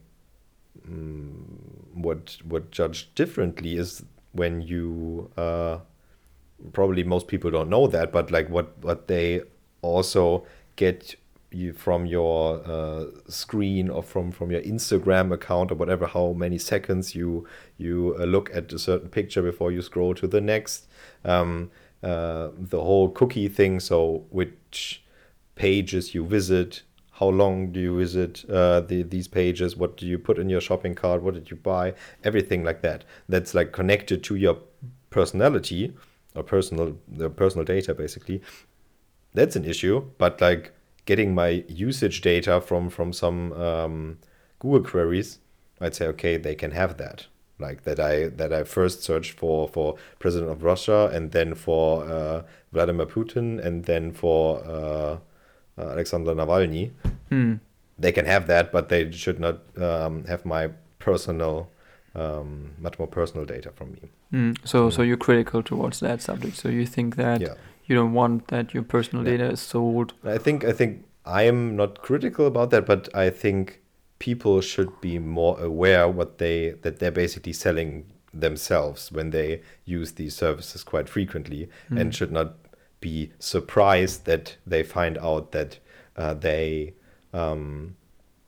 um, would would judge differently is when you uh, probably most people don't know that, but like what what they also get you from your uh, screen or from from your Instagram account or whatever, how many seconds you you uh, look at a certain picture before you scroll to the next, um, uh, the whole cookie thing, so which pages you visit, how long do you visit uh, the, these pages, what do you put in your shopping cart, what did you buy, everything like that, that's like connected to your personality or personal the personal data basically. That's an issue. But like getting my usage data from from some um, Google queries, I'd say, okay, they can have that. Like that I that I first searched for for president of Russia, and then for uh, Vladimir Putin, and then for uh, uh, Alexander Navalny. Hmm. They can have that, but they should not um, have my personal, um, much more personal data from me. Mm. So, Mm. so you're critical towards that subject. So you think that Yeah. you don't want that your personal Yeah. data is sold. I think I think I am not critical about that, but I think people should be more aware what they that they're basically selling themselves when they use these services quite frequently, Mm. and should not be surprised that they find out that uh, they um,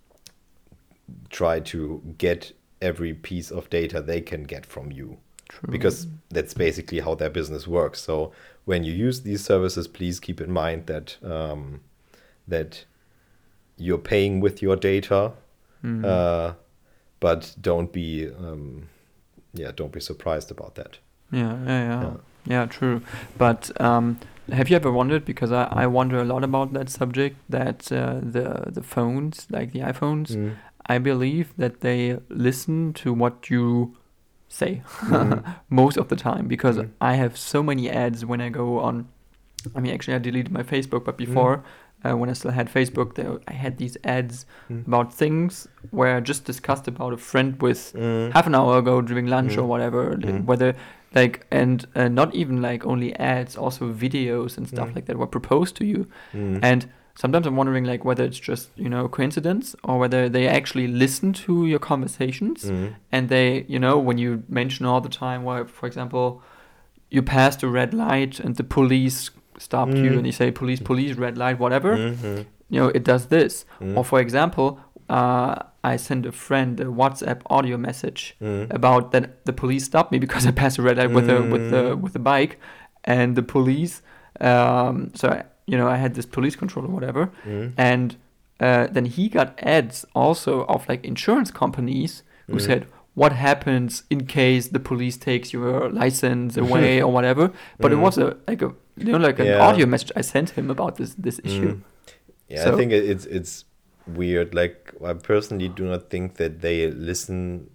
try to get every piece of data they can get from you. True. Because that's basically how their business works. So when you use these services, please keep in mind that um, that you're paying with your data, Mm. uh, but don't be um, yeah don't be surprised about that. Yeah, yeah, yeah, Yeah. yeah, true. But um, have you ever wondered? Because I, I wonder a lot about that subject. That uh, the the phones, like the iPhones, Mm. I believe that they listen to what you say Mm. most of the time. Because Mm. I have so many ads when I go on. I mean, actually, I deleted my Facebook, but before, uh, when I still had Facebook, there I had these ads Mm. about things where I just discussed about a friend with Mm. half an hour ago during lunch Mm. or whatever, like, Mm. whether like and uh, not even like only ads, also videos and stuff Mm. like that were proposed to you. Mm. And sometimes I'm wondering like whether it's just, you know, coincidence, or whether they actually listen to your conversations. Mm. And they, you know, when you mention all the time where, for example, you passed a red light and the police stopped you, Mm. and you say police, police, red light, whatever, Mhm. you know, it does this. Mm. Or for example, uh, I sent a friend a WhatsApp audio message Mm. about that the police stopped me because I passed a red light with a with the Mm. with the bike, and the police. Um, so I, you know, I had this police control or whatever, Mm. and uh, then he got ads also of like insurance companies who Mm. said, what happens in case the police takes your license away or whatever. But it Mm. was a like a you know like an Yeah. audio message I sent him about this this issue. Mm. Yeah, So- I think it- it's it's weird. Like I personally do not think that they listen,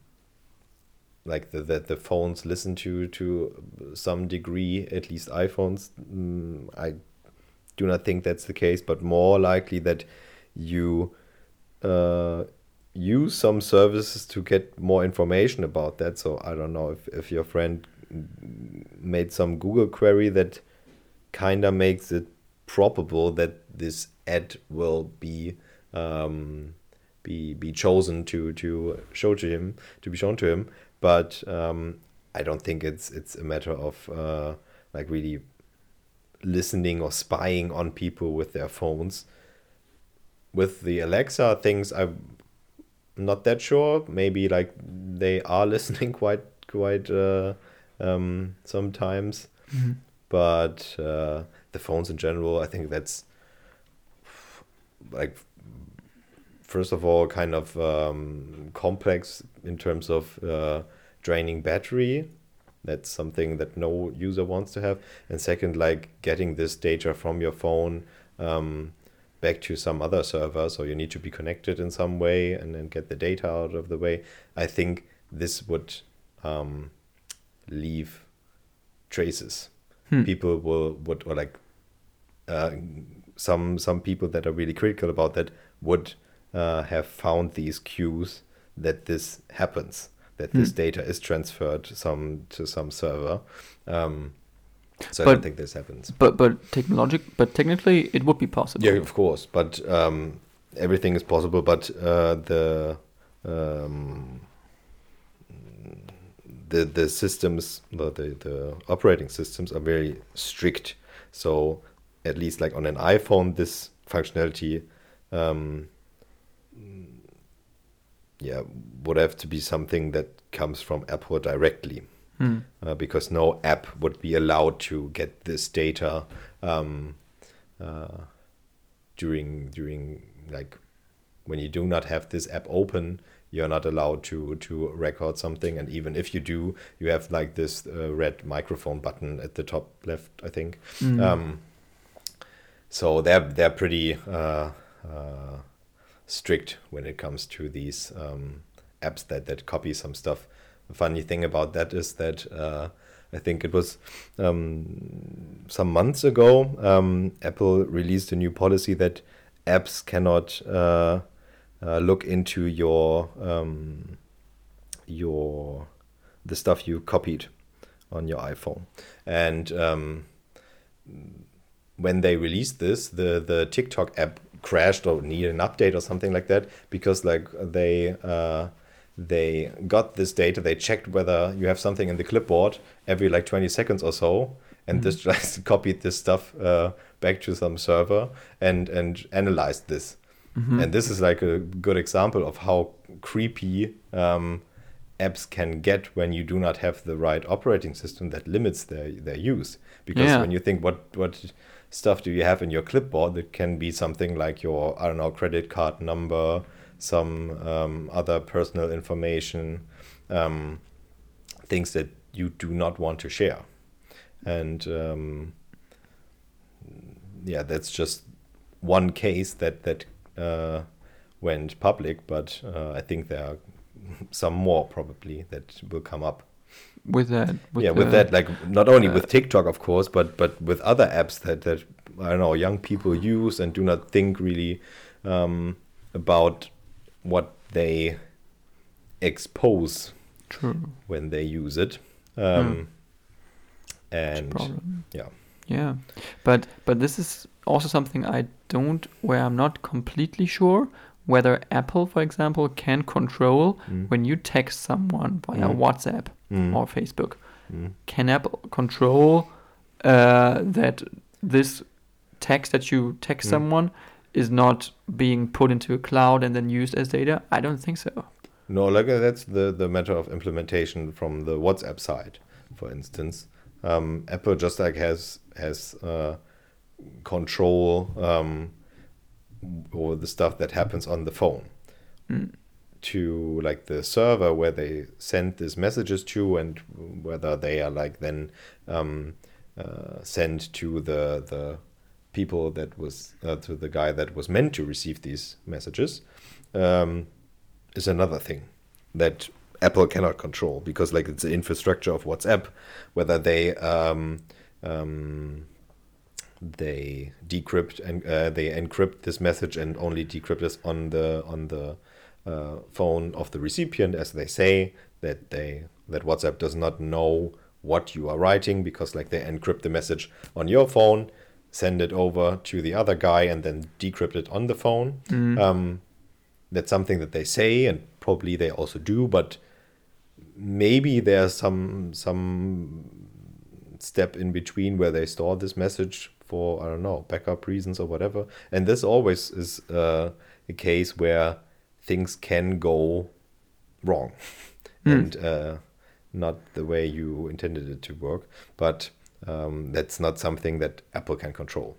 like the, that the phones listen to to some degree, at least iPhones. Mm, I do not think that's the case, but more likely that you uh, use some services to get more information about that. So I don't know if, if your friend made some Google query that kind of makes it probable that this ad will be um, be be chosen to to show to him to be shown to him. But um, I don't think it's it's a matter of uh, like really listening or spying on people with their phones. With the Alexa things, I'm not that sure. Maybe like they are listening quite quite uh, um, sometimes. Mhm. But uh, the phones in general, I think that's like, first of all, kind of um, complex in terms of uh, draining battery. That's something that no user wants to have. And second, like getting this data from your phone um, back to some other server. So you need to be connected in some way and then get the data out of the way. I think this would um, leave traces. Hmm. People will would or like uh, some some people that are really critical about that would uh, have found these cues that this happens. That this hmm. data is transferred some to some server. Um, so but, I don't think this happens. But but technologic, but technically it would be possible. Yeah, of course. But um, everything is possible. But uh, the um, the the systems, the, the the operating systems are very strict. So at least like on an iPhone, this functionality. Um, yeah, would have to be something that comes from Apple directly, hmm. uh, because no app would be allowed to get this data um, uh, during during like when you do not have this app open. You're not allowed to to record something, and even if you do, you have like this uh, red microphone button at the top left, I think. Hmm. Um, so they're they're pretty. Uh, uh, strict when it comes to these um, apps that, that copy some stuff. The funny thing about that is that uh, I think it was um, some months ago, um, Apple released a new policy that apps cannot uh, uh, look into your um, your the stuff you copied on your iPhone. And um, when they released this, the the TikTok app crashed or needed an update or something like that, because like they uh, they got this data, they checked whether you have something in the clipboard every like twenty seconds or so, and mm-hmm. this just copied this stuff uh, back to some server and and analyzed this. Mm-hmm. And this is like a good example of how creepy um, apps can get when you do not have the right operating system that limits their their use. Because yeah. when you think what what stuff do you have in your clipboard, it can be something like your, I don't know, credit card number, some um, other personal information, um, things that you do not want to share. And um, yeah, that's just one case that, that uh, went public, but uh, I think there are some more probably that will come up. With that, with yeah, with that, like not only uh, with TikTok, of course, but but with other apps that that I don't know, young people use and do not think really um, about what they expose True. when they use it. Um, mm. And yeah, yeah, but but this is also something I don't, where I'm not completely sure whether Apple, for example, can control mm. when you text someone via mm. WhatsApp mm. or Facebook. Mm. Can Apple control uh, that this text that you text mm. someone is not being put into a cloud and then used as data? I don't think so. No, like uh, that's the, the matter of implementation from the WhatsApp side, for instance. Um, Apple just like has has uh, control um, or the stuff that happens on the phone mm. to like the server where they send these messages to, and whether they are like then um, uh, sent to the the people that was uh, to the guy that was meant to receive these messages um, is another thing that Apple cannot control, because like it's the infrastructure of WhatsApp, whether they um, um, they decrypt and uh, they encrypt this message and only decrypt this on the on the uh, phone of the recipient, as they say that they that WhatsApp does not know what you are writing, because like they encrypt the message on your phone, send it over to the other guy, and then decrypt it on the phone. Mm. Um, that's something that they say, and probably they also do, but maybe there's some some step in between where they store this message for, I don't know, backup reasons or whatever. And this always is uh, a case where things can go wrong mm. and uh, not the way you intended it to work. But um, that's not something that Apple can control.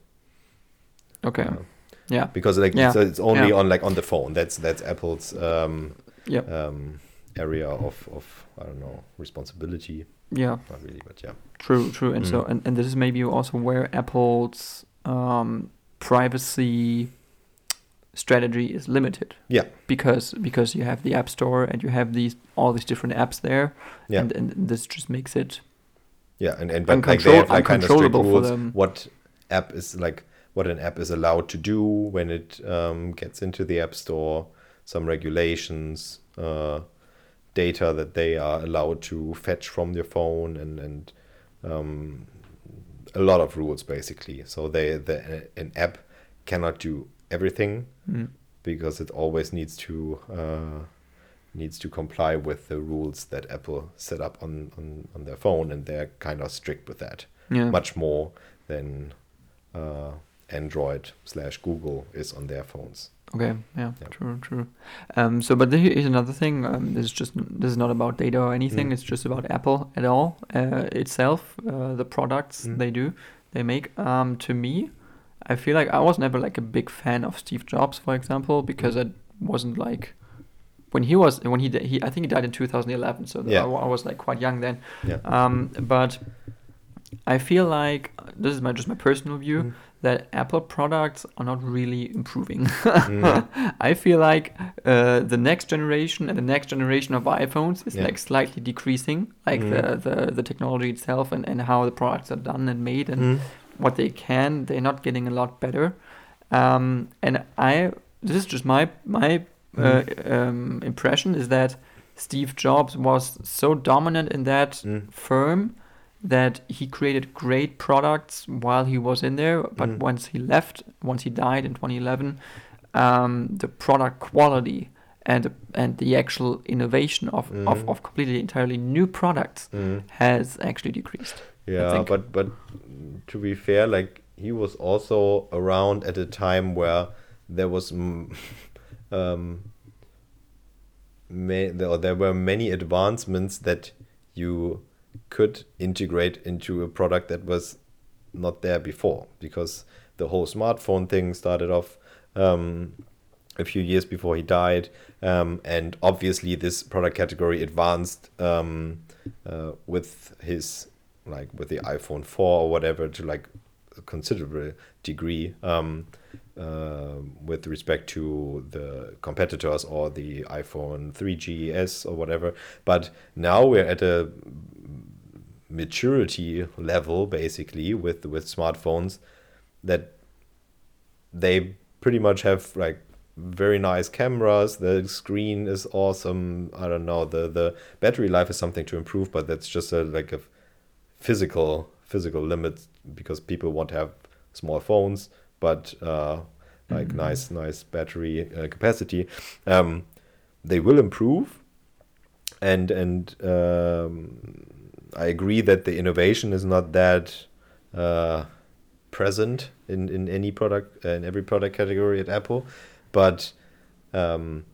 Okay. Uh, yeah. Because like Yeah. it's, it's only Yeah. on like on the phone. That's that's Apple's um, Yep. um, area of, of I don't know responsibility. Yeah. Not really, but yeah. True. True. And Mm. so and, and this is maybe also where Apple's um, privacy strategy is limited. Yeah. Because because you have the App Store and you have these all these different apps there, Yeah. and, and this just makes it Yeah, and, and but like Uncontrol- they have like kind of strict uncontrollable for rules them. what app is like what an app is allowed to do when it um, gets into the App Store, some regulations, uh, data that they are allowed to fetch from your phone, and and um, a lot of rules basically. So they the an app cannot do everything mm, because it always needs to uh, needs to comply with the rules that Apple set up on, on, on their phone, and they're kind of strict with that. yeah. Much more than uh, Android slash Google is on their phones. Okay, yeah, Yeah. true, true. Um, so, but here is another thing. Um, this is just this is not about data or anything. Mm. It's just about Apple at all uh, itself. Uh, the products Mm. they do, they make. Um, to me, I feel like I was never like a big fan of Steve Jobs, for example, because it wasn't like when he was when he di- he I think he died in two thousand eleven. So Yeah. I, wa- I was like quite young then. Yeah. Um, but I feel like this is my just my personal view. Mm. That Apple products are not really improving. Mm. I feel like uh, the next generation and the next generation of iPhones is Yeah. like slightly decreasing, like Mm. the, the, the technology itself and, and how the products are done and made and Mm. what they can. They're not getting a lot better. Um, and I this is just my my uh, um, impression is that Steve Jobs was so dominant in that Mm. firm that he created great products while he was in there, but Mm. once he left, once he died in twenty eleven, um, the product quality and and the actual innovation of, Mm. of, of completely entirely new products Mm. has actually decreased. Yeah, think. but but to be fair, like he was also around at a time where there was mm, um, ma- there, there were many advancements that you could integrate into a product that was not there before, because the whole smartphone thing started off um, a few years before he died, um, and obviously this product category advanced um, uh, with his like with the iPhone four or whatever to like a considerable degree um, uh, with respect to the competitors or the iPhone three G S or whatever. But now we're at a maturity level basically with with smartphones that they pretty much have like very nice cameras, the screen is awesome, I don't know, the the battery life is something to improve, but that's just a like a physical physical limit because people want to have small phones but uh like Mhm. nice nice battery uh, capacity. Um they will improve, and and um I agree that the innovation is not that uh, present in, in any product, uh, in every product category at Apple, but um,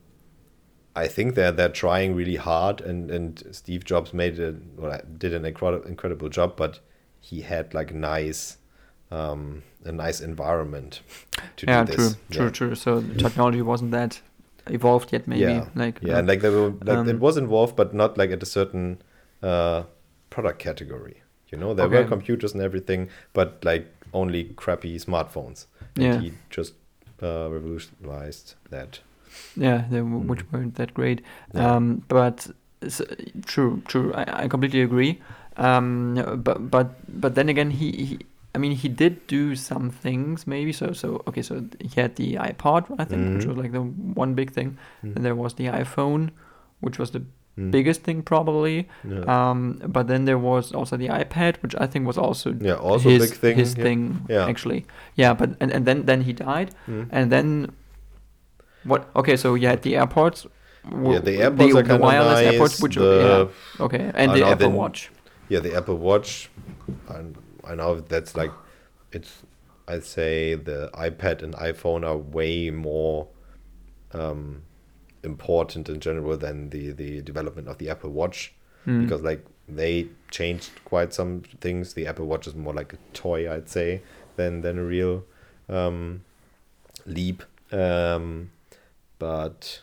I think they're they're trying really hard, and, and Steve Jobs made a well, did an incredible incredible job, but he had like nice um, a nice environment to Yeah, do true, this. true, Yeah. true. So the technology wasn't that evolved yet, maybe. Yeah. Like Yeah, uh, and like they were like Um, it was involved, but not like at a certain uh, product category. You know, there were Okay. computers and everything, but like only crappy smartphones. And Yeah. he just uh, revolutionized that. yeah, they w- Mm. which weren't that great. Yeah. Um, but s true, true. I, I completely agree. Um, but but but then again, he, he I mean, he did do some things maybe. So so okay. So he had the iPod, I think, which Mhm. was like the one big thing. Mm. And there was the iPhone, which was the Mm. biggest thing probably. Yeah. Um, but then there was also the iPad, which I think was also Yeah, also a his big thing. his yeah. thing Yeah. actually. Yeah, but and, and then then he died, Mm. and then what? Okay, so you had the AirPods. w- Yeah, the AirPods are the kind of wireless nice. AirPods, which the, yeah, okay, and I the know, Apple then- Watch. Yeah, the Apple Watch. I, I know that's like, it's. I'd say the iPad and iPhone are way more um, important in general than the the development of the Apple Watch, Mm. because like they changed quite some things. The Apple Watch is more like a toy, I'd say, than than a real um, leap. Um, but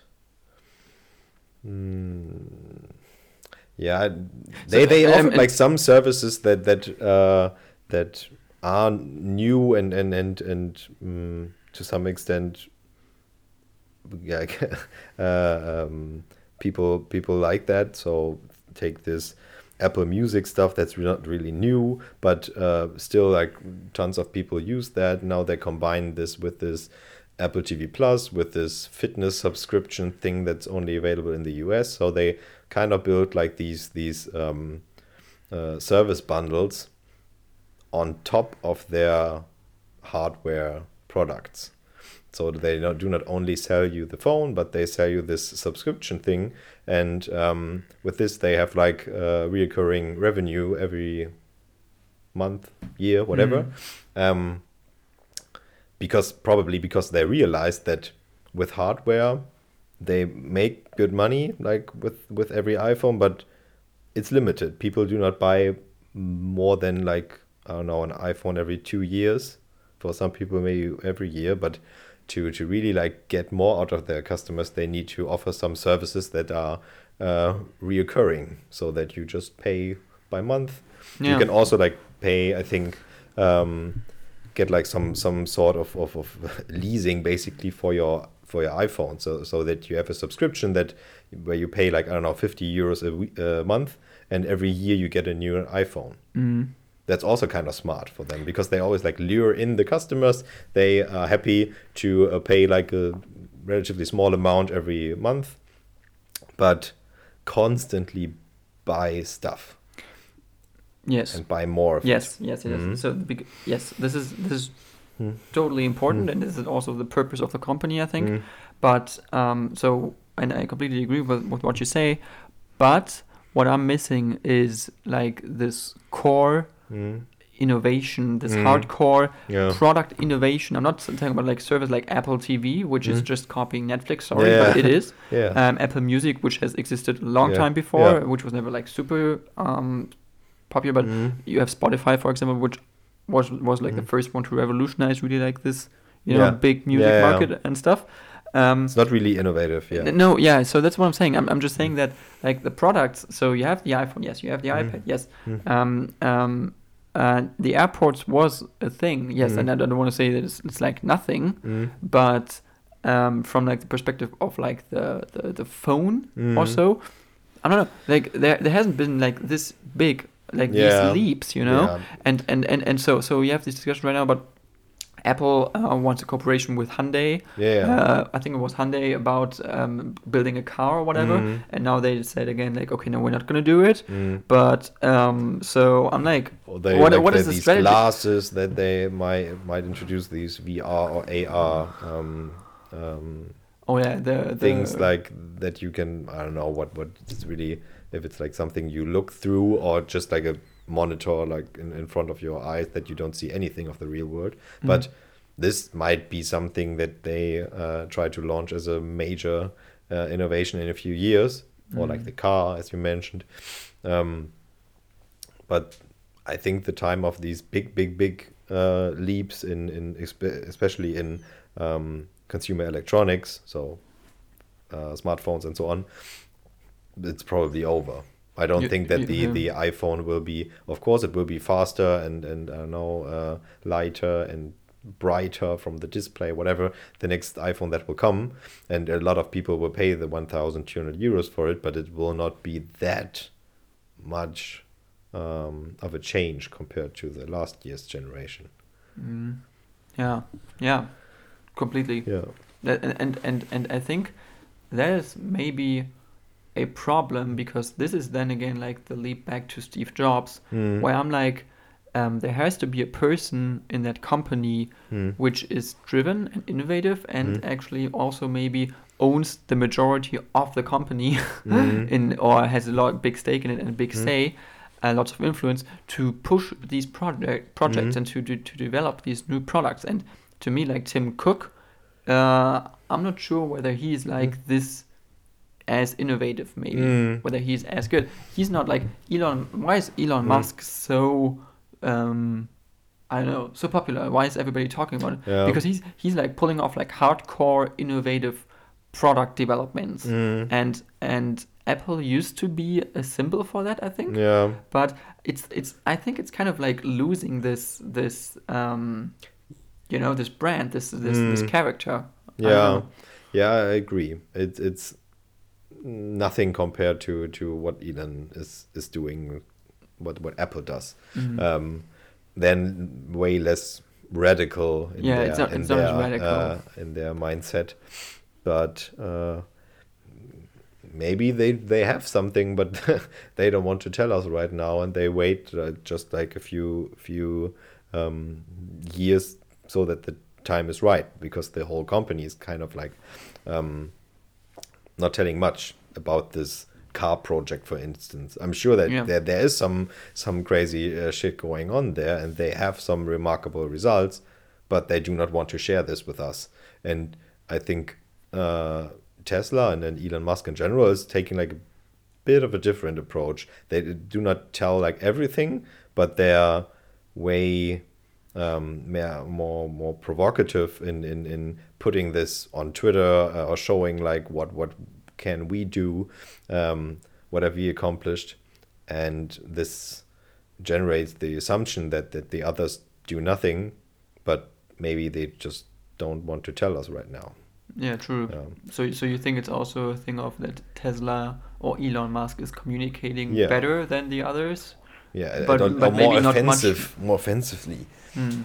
mm, yeah, they So, they um, offer and- like some services that that uh, that are new and and and and um, to some extent, yeah, uh, um, people people like that. So take this Apple Music stuff that's not really new, but uh, still like tons of people use that. Now they combine this with this Apple T V Plus, with this fitness subscription thing that's only available in the U S. So they kind of built like these these um, uh, service bundles on top of their hardware products. So they not, do not only sell you the phone, but they sell you this subscription thing. And um, with this, they have like uh, reoccurring revenue every month, year, whatever. Mm. Um, because probably because they realized that with hardware, they make good money, like with, with every iPhone, but it's limited. People do not buy more than like, I don't know, an iPhone every two years. For some people, maybe every year, but to to really like get more out of their customers, they need to offer some services that are uh, reoccurring, so that you just pay by month. Yeah. You can also like pay, I think, um, get like some some sort of, of, of leasing basically for your for your iPhone, so so that you have a subscription that where you pay like, I don't know, fifty euros a, week, a month, and every year you get a new iPhone. Mm. That's also kind of smart for them, because they always like lure in the customers. They are happy to uh, pay like a relatively small amount every month, but constantly buy stuff. Yes. And buy more of yes, it. Yes, yes, mm-hmm. So the, yes, this is this is mm. totally important, mm. and this is also the purpose of the company, I think. Mm. But um, so, and I completely agree with, with what you say. But what I'm missing is like this core. Mm. innovation, this mm. hardcore yeah. product innovation. I'm not talking about like service like Apple T V, which mm. is just copying Netflix, sorry, yeah. but it is. yeah. um, Apple Music, which has existed a long yeah. time before, yeah. which was never like super um, popular, but mm. you have Spotify, for example, which was was like mm. the first one to revolutionize really like this, you know, yeah. big music yeah, market yeah. and stuff. Um, it's not really innovative, yeah. No, yeah, so that's what I'm saying. I'm I'm just saying mm. that like the products, so you have the iPhone, yes, you have the mm. iPad, yes. Mm. Um, um, uh, the AirPods was a thing, yes, mm. and I don't want to say that it's, it's like nothing, mm. but um, from like the perspective of like the, the, the phone mm. also, I don't know, like there there hasn't been like this big, like yeah. these leaps, you know? Yeah. And, and, and, and so so you have this discussion right now about Apple uh, wants a cooperation with Hyundai. Yeah. Uh, I think it was Hyundai about um, building a car or whatever. Mm. And now they said again, like, okay, no, we're not going to do it. Mm. But um, so I'm like, or they, what, like what is the these strategy? Glasses that they might might introduce, these V R or A R um, um, oh yeah, the, the things like that you can, I don't know what what it's really, if it's like something you look through or just like a monitor like in, in front of your eyes that you don't see anything of the real world. Mm. But this might be something that they uh, try to launch as a major uh, innovation in a few years, mm. or like the car, as you mentioned. Um, but I think the time of these big, big, big uh, leaps in, in especially in um, consumer electronics, so uh, smartphones and so on, it's probably over. I don't you, think that you, the, yeah. the iPhone will be, of course, it will be faster and, and I don't know, uh, lighter and brighter from the display, whatever, the next iPhone that will come. And a lot of people will pay the one thousand two hundred euros for it, but it will not be that much um, of a change compared to the last year's generation. Mm. Yeah, yeah, completely. Yeah. And, and, and, and I think there's maybe a problem, because this is then again like the leap back to Steve Jobs, mm. where I'm like, um, there has to be a person in that company mm. which is driven and innovative and mm. actually also maybe owns the majority of the company mm. in or has a lot big stake in it and a big mm. say, uh, lots of influence to push these project projects mm. and to, to to develop these new products. And to me, like Tim Cook, uh, I'm not sure whether he's like mm. this as innovative, maybe Mm. whether he's as good. He's not like Elon. Why is Elon Mm. Musk so? Um, I don't know, so popular. Why is everybody talking about it? Yeah. Because he's he's like pulling off like hardcore innovative product developments, Mm. and and Apple used to be a symbol for that, I think. Yeah. But it's it's I think it's kind of like losing this this um, you know, this brand, this this this Mm. character. I don't Yeah. know. Yeah, I agree. It's it's nothing compared to, to what Elon is, is doing, what what Apple does. Mhm. Um, then way less radical in Yeah, their it's not- in it's not as their radical. uh, in their mindset, but uh, maybe they they have something, but they don't want to tell us right now, and they wait uh, just like a few few um, years so that the time is right, because the whole company is kind of like um, not telling much about this car project, for instance. I'm sure that Yeah. there there is some some crazy uh, shit going on there, and they have some remarkable results, but they do not want to share this with us. And I think uh, Tesla and then Elon Musk in general is taking like a bit of a different approach. They do not tell like everything, but they are way um, more more more provocative in, in, in putting this on Twitter uh, or showing like what what can we do, um, what have we accomplished, and this generates the assumption that, that the others do nothing, but maybe they just don't want to tell us right now. Yeah, true. Um, So so you think it's also a thing of that Tesla or Elon Musk is communicating Yeah. better than the others? yeah, But- or, but or more maybe not much- offensive, more offensively, Hmm.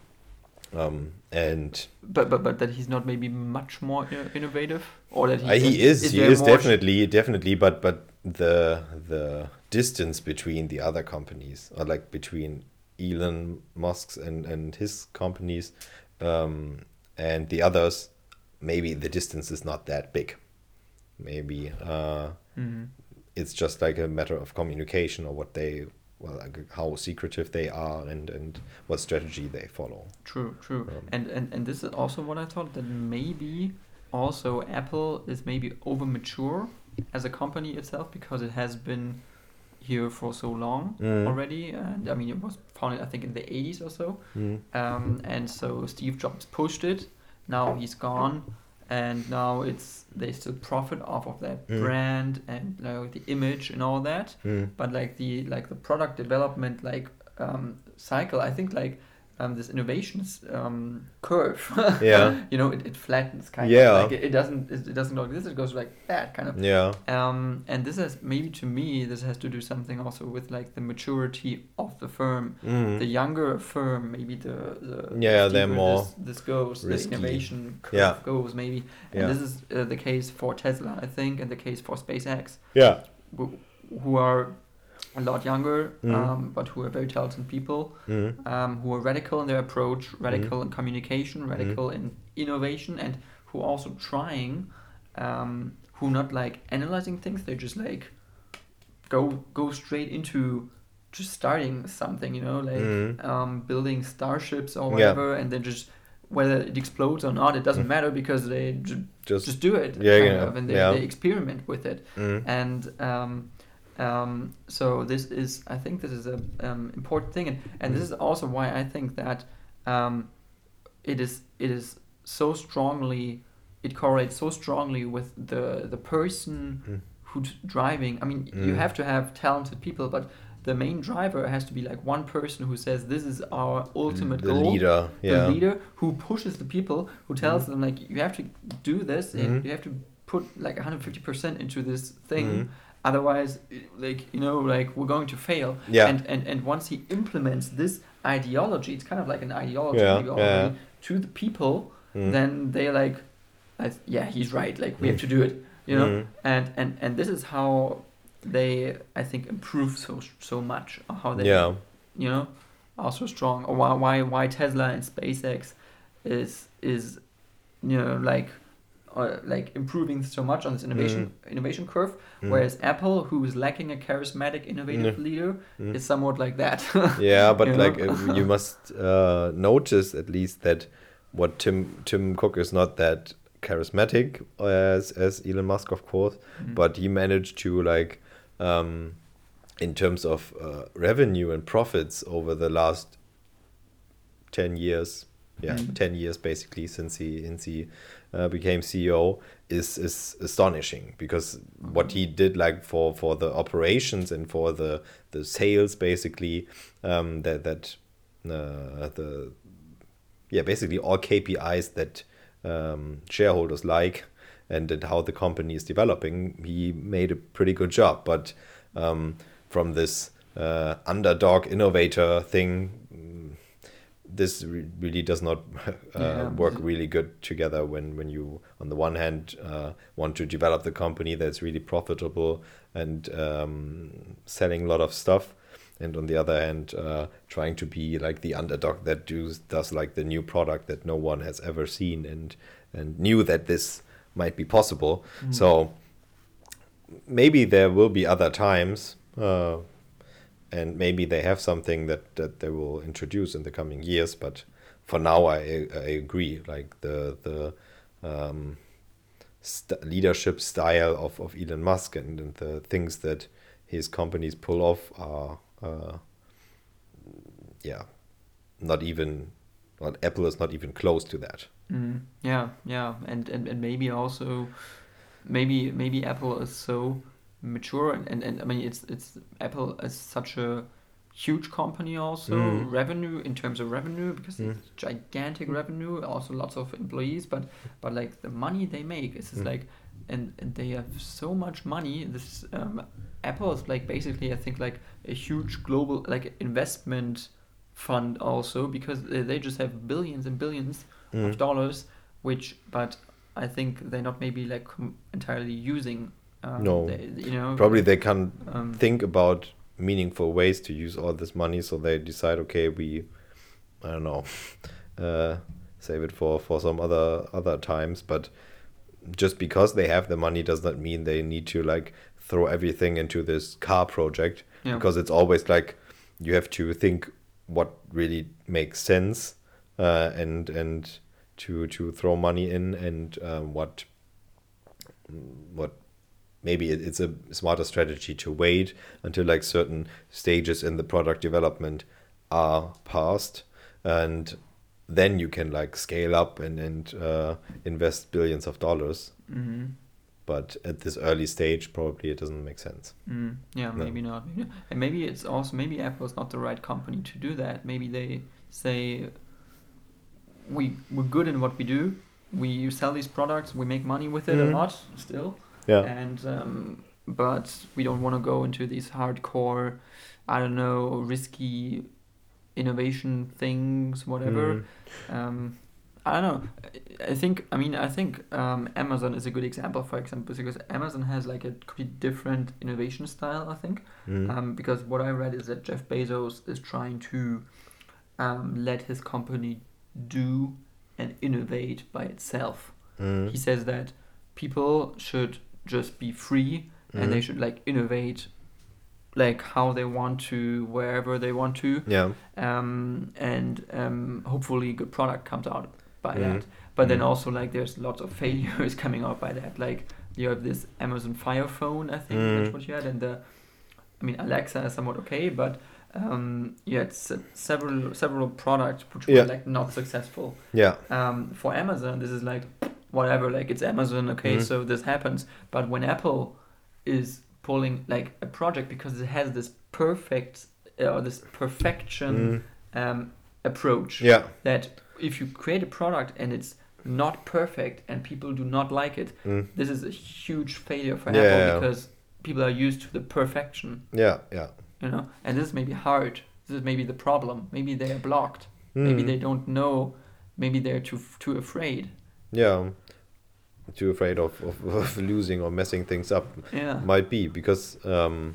um, and But but but that he's not maybe much more i- innovative, or that he, Uh, he is, he there is more sh- definitely, definitely, but but the the distance between the other companies, or like between Elon Musk's and and his companies, um, and the others, maybe the distance is not that big. Maybe uh, Mhm. it's just like a matter of communication, or what they, well, like how secretive they are, and and what strategy they follow. True, true. Um, and, and and this is also what I thought, that maybe also Apple is maybe over mature as a company itself, because it has been here for so long Mm. already. And I mean, it was founded I think in the eighties or so. Mm. Um, and so Steve Jobs pushed it. Now he's gone, and now it's they still profit off of that Mm. brand and like the image and all that. Mm. But like the like the product development like um, cycle, I think like um, this innovations um, curve. Yeah. you know, it, it flattens kind Yeah. of like it, it doesn't it, it doesn't go like this. It goes like that kind of. Yeah. Um, and this is maybe to me this has to do something also with like the maturity of the firm. Mm. The younger a firm, maybe the, the Yeah, the they're steeper more this, this goes, risky. the innovation curve Yeah. goes maybe. And Yeah. this is uh, the case for Tesla, I think, and the case for SpaceX, Yeah. who, who are a lot younger, Mhm. um, but who are very talented people, Mm. um, who are radical in their approach, radical Mhm. in communication, radical in innovation, and who are also trying, um, who not like analyzing things. They just like go go straight into just starting something, you know, like Mhm. um, building starships or Yeah. whatever, and then just whether it explodes or not, it doesn't Mm. matter, because they ju- Just, just do it, Yeah, kind yeah, of, and they, yeah. they experiment with it. Mm. And um, um, so this is, I think, this is a um, important thing, and, and this is also why I think that um, it is it is so strongly, it correlates so strongly with the the person Mm. who's driving. I mean, you Mm. have to have talented people, but the main driver has to be like one person who says this is our ultimate the goal. leader, The yeah. leader who pushes the people, who tells Mhm. them like you have to do this, and Mhm. you have to put like one hundred fifty percent into this thing. Mhm. Otherwise, like you know, like we're going to fail. Yeah. And and and once he implements this ideology, it's kind of like an ideology Yeah, maybe yeah. already, to the people, Mm. then they're like, I th- yeah, he's right. Like we have to do it, you know. Mm. And and and this is how they, I think, improve so so much. Or how they, Yeah. you know, are so strong. Or why why why Tesla and SpaceX is is you know like. Uh, like improving so much on this innovation innovation curve, Mm. whereas Apple, who is lacking a charismatic, innovative Mm. leader, Mm. is somewhat like that. Yeah, but You know? like uh, you must uh, notice at least that what Tim Tim Cook is not that charismatic as as Elon Musk, of course, Mhm. but he managed to like um, in terms of uh, revenue and profits over the last ten years, yeah, Mhm. ten years basically since he since he uh, became C E O is is astonishing, because what he did like for for the operations and for the the sales basically, um, that that uh, the yeah basically all K P Is that um, shareholders like, and, and how the company is developing, he made a pretty good job. But um, from this uh, underdog innovator thing, mm, this re- really does not uh, Yeah. work really good together when, when you, on the one hand, uh, want to develop the company that's really profitable and um, selling a lot of stuff, and on the other hand, uh, trying to be like the underdog that does, does like the new product that no one has ever seen and and knew that this might be possible. Mhm. So maybe there will be other times, uh, and maybe they have something that, that they will introduce in the coming years. But for now, I I agree. Like the the um, st- leadership style of, of Elon Musk and, and the things that his companies pull off are, uh, yeah, not even, well, Apple is not even close to that. Mm, yeah, yeah, and, and and maybe also, maybe maybe Apple is so mature, and, and, and I mean it's it's Apple is such a huge company also, Mm. revenue in terms of revenue, because Mm. it's gigantic revenue, also lots of employees, but but like the money they make is just Mm. like, and, and they have so much money. This um, Apple is like basically I think like a huge global like investment fund also, because they they just have billions and billions Mm. of dollars, which but I think they're not maybe like com- entirely using. Um, No. they, you know, Probably they can um, think about meaningful ways to use all this money, so they decide, okay, we, I don't know, uh, save it for, for some other other times. But just because they have the money does not mean they need to like throw everything into this car project, Yeah. because it's always like you have to think what really makes sense, uh, and and to to throw money in, and um, what what maybe it, it's a smarter strategy to wait until like certain stages in the product development are passed, and then you can like scale up and and uh, invest billions of dollars. hmm But at this early stage, probably it doesn't make sense. Mm, yeah, No. maybe not. Maybe not. And maybe it's also maybe Apple is not the right company to do that. Maybe they say we we're good in what we do. We sell these products. We make money with it a Mhm. lot still. Yeah. And um, but we don't want to go into these hardcore, I don't know, risky innovation things, whatever. Mm. Um, I don't know. I- I think. I mean, I think um, Amazon is a good example, for example, because Amazon has like a completely different innovation style. I think Mm. um, because what I read is that Jeff Bezos is trying to um, let his company do and innovate by itself. Mm. He says that people should just be free and they Mm. should like innovate like how they want to, wherever they want to, Yeah. um, and um, hopefully good product comes out by Mm. that. But then Mm. also like there's lots of failures coming out by that. Like you have this Amazon Fire phone, I think Mm. that's what you had, and the, I mean Alexa is somewhat okay, but um, you had se- several several products which Yeah. were like not successful. Yeah. Um, for Amazon, this is like whatever, like it's Amazon, okay, Mhm. so this happens. But when Apple is pulling like a project because it has this perfect uh, or this perfection Mm. um, approach, Yeah. that if you create a product and it's not perfect and people do not like it, Mm. this is a huge failure for Yeah, Apple yeah. because people are used to the perfection, Yeah. Yeah. you know, and this is maybe hard. This is maybe the problem. Maybe they are blocked. Maybe Mm. they don't know. Maybe they're too too afraid. Yeah. Too afraid of, of, of losing or messing things up. Yeah. Might be, because um,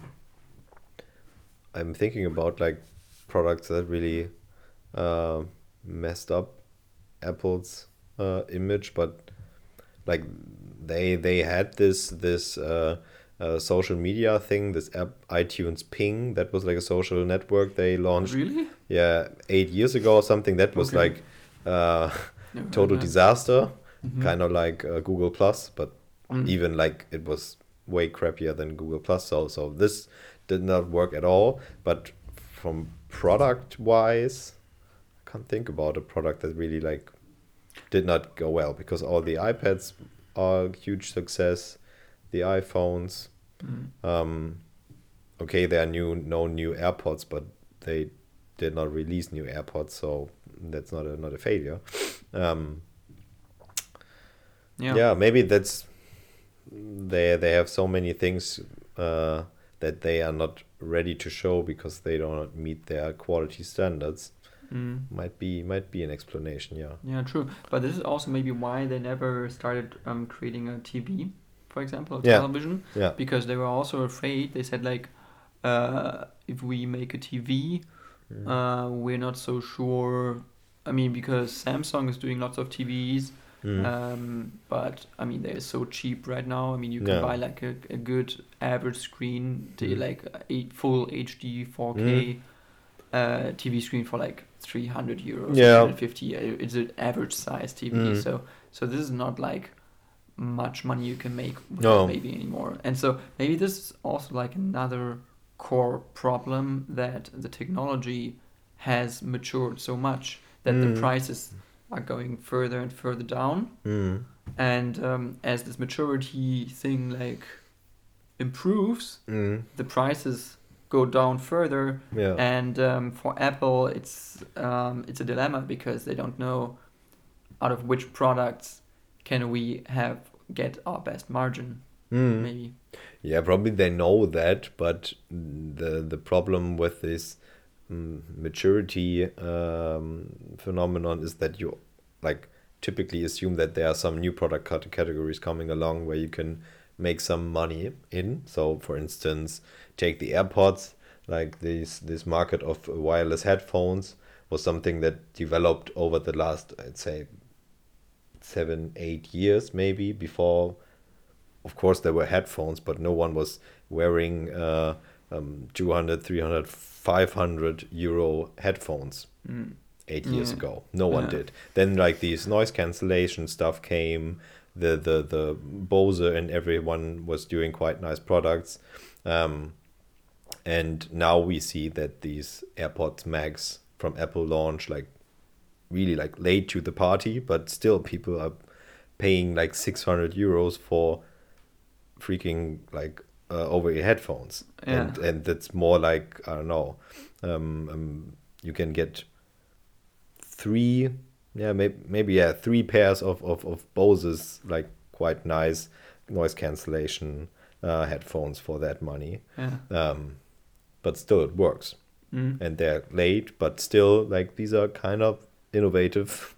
I'm thinking about like products that really uh, messed up Apple's uh, image, but like they they had this this uh, uh, social media thing, this app iTunes Ping, that was like a social network they launched, Really? yeah, eight years ago or something. That was Okay. like uh, Never heard total that. disaster. Mhm. kind of like uh, Google Plus, but Mm. even like it was way crappier than Google Plus. So so this did not work at all. But from product wise, I can't think about a product that really like did not go well, because all the iPads are a huge success, the iPhones. Mm. Um, okay, there are new no new AirPods, but they did not release new AirPods, so that's not a not a failure. Um, Yeah. yeah, maybe that's they they have so many things uh, that they are not ready to show because they don't meet their quality standards. Mm. Might be might be an explanation. Yeah. Yeah, true. But this is also maybe why they never started um, creating a T V, for example, a Yeah. television, Yeah. because they were also afraid. They said like, uh, if we make a T V, Mm. uh, we're not so sure. I mean, because Samsung is doing lots of T Vs, Mm. um, but I mean they're so cheap right now. I mean you can Yeah. buy like a, a good average screen, to Mm. like a full H D four K uh, T V screen for like three hundred euros, Yeah. three hundred fifty. Uh, It's an average size T V, Mm. so so this is not like much money you can make with No. that maybe anymore. And so maybe this is also like another core problem, that the technology has matured so much that Mm. the prices are going further and further down. Mm. And um, as this maturity thing like improves, Mm. the prices go down further. Yeah. And um, for Apple, it's um, it's a dilemma, because they don't know out of which products can we have get our best margin. Mm. Maybe. Yeah, probably they know that, but the the problem with this mm, maturity um, phenomenon is that you like typically assume that there are some new product cat- categories coming along where you can make some money in. So, for instance, take the AirPods. Like this this market of wireless headphones was something that developed over the last, I'd say, seven, eight years maybe. Before, of course, there were headphones, but no one was wearing uh, um, two hundred, three hundred, five hundred euro headphones Mm. eight years Yeah. ago. No one Yeah. did. Then like these noise cancellation stuff came. The the the Bose and everyone was doing quite nice products. Um, and now we see that these AirPods Max from Apple launch like really like late to the party, but still people are paying like six hundred euros for freaking like uh, over-ear headphones. Yeah. And and that's more like, I don't know, um, um you can get three yeah maybe, maybe yeah three pairs of, of, of Bose's like quite nice noise cancellation uh, headphones for that money. Yeah. Um, but still it works. Mm. And they're late, but still like these are kind of innovative,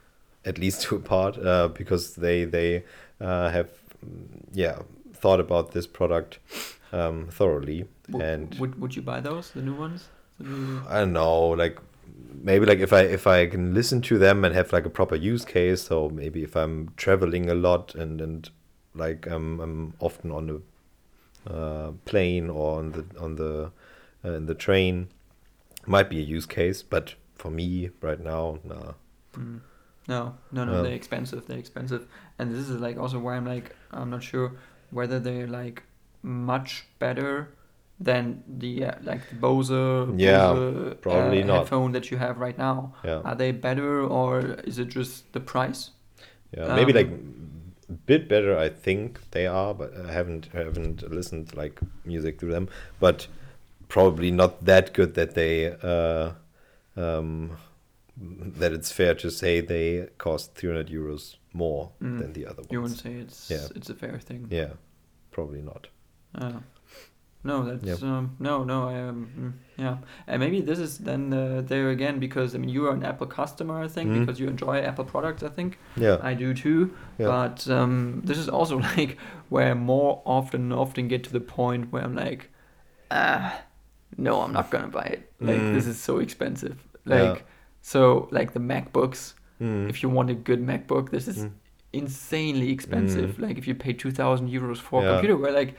at least to a part, uh, because they they uh, have mm, yeah thought about this product um, thoroughly. W- And would would you buy those, the new ones? The new... I don't know, like maybe like if I if I can listen to them and have like a proper use case, so maybe if I'm traveling a lot and and like I'm I'm often on the uh, plane or on the on the uh, in the train, might be a use case. But for me right now, nah. Mm. No, no, no, No. they're expensive. They're expensive, and this is like also why I'm like I'm not sure whether they're like much better than the uh, like the Bose, Yeah, Bose probably uh, not. headphone that you have right now. Yeah, Are they better, or is it just the price? yeah, maybe Um, like a bit better. I think they are, but I haven't haven't listened like music to them. But probably not that good that they uh, um, that it's fair to say they cost three hundred euros more Mm. than the other ones. You wouldn't say it's Yeah. it's a fair thing. Yeah, probably not. Uh, no, that's Yep. um, no, no. I um, mm, yeah, and maybe this is then uh, there again, because I mean you are an Apple customer, I think, Mhm. because you enjoy Apple products. I think Yeah, I do too. Yeah. But um, this is also like where I more often often get to the point where I'm like, ah, no, I'm not gonna buy it. Like Mm. this is so expensive. Like Yeah. so, like the MacBooks. Mm. If you want a good MacBook, this is Mm. insanely expensive. Like if you pay two thousand euros for a Yeah. computer, we're like,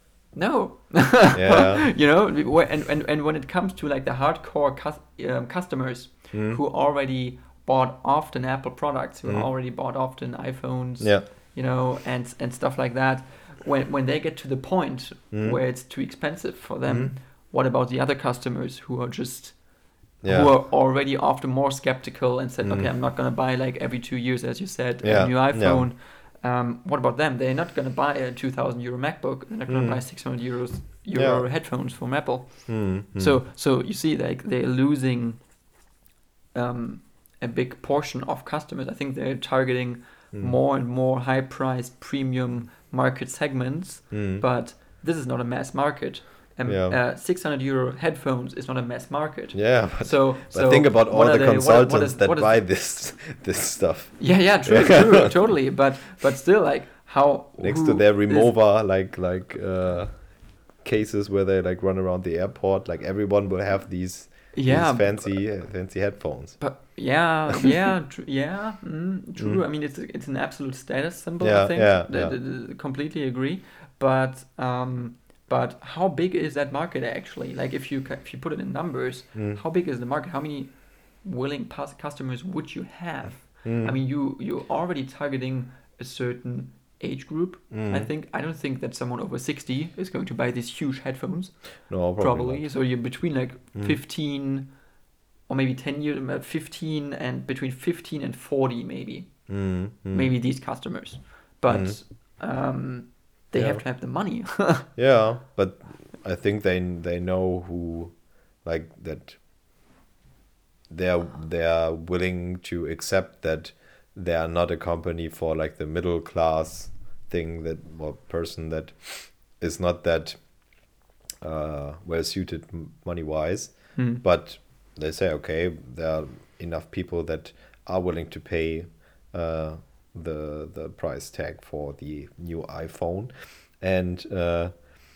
no. Yeah. You know, wh- and, and and when it comes to like the hardcore cus- um, customers Mm. who already bought often Apple products, who Mm. already bought often iPhones, Yeah. you know, and and stuff like that, when when they get to the point Mm. where it's too expensive for them, Mm. what about the other customers who are just Yeah. who are already often more skeptical and said, Mm. okay, I'm not gonna buy like every two years, as you said, Yeah, a new yeah. iPhone. Um, what about them? They're not gonna buy a two thousand euro MacBook. They're not gonna Mm. buy six hundred euros euro Yeah. headphones from Apple. Mm. Mm. So so you see, like they're losing um, a big portion of customers. I think they're targeting Mm. more and more high-priced premium market segments, Mm. but this is not a mass market. Um, Yeah. uh, six hundred euro headphones is not a mass market. Yeah, but, So, but so think about all what are the they- what- consultants what is- that what is- buy this this stuff Yeah, yeah, true, true, totally. But but still, like how next who to their is- Remova, like like uh, cases where they like run around the airport. Like everyone will have these, Yeah, these fancy uh, fancy headphones. But yeah, yeah, tr- yeah, mm, true. Mm. I mean, it's it's an absolute status symbol. Yeah, I think. yeah, Th- yeah. th- th- completely agree. But um, but how big is that market actually? Like, if you ca- if you put it in numbers, Mm. how big is the market? How many willing pus- customers would you have? Mm. I mean, you you're already targeting a certain age group. Mm. I think I don't think that someone over sixty is going to buy these huge headphones. No, probably. Probably. not. So you're between like Mm. fifteen or maybe ten years, uh, fifteen and between fifteen and forty, maybe. Mm. Mm. Maybe these customers. But Mm. um, they Yeah. have to have the money. Yeah, but I think they they know who, like that. They're they're willing to accept that they are not a company for like the middle class thing, that or person that is not that uh, well suited money wise. Hmm. But they say, okay, there are enough people that are willing to pay uh, the the price tag for the new iPhone, and uh,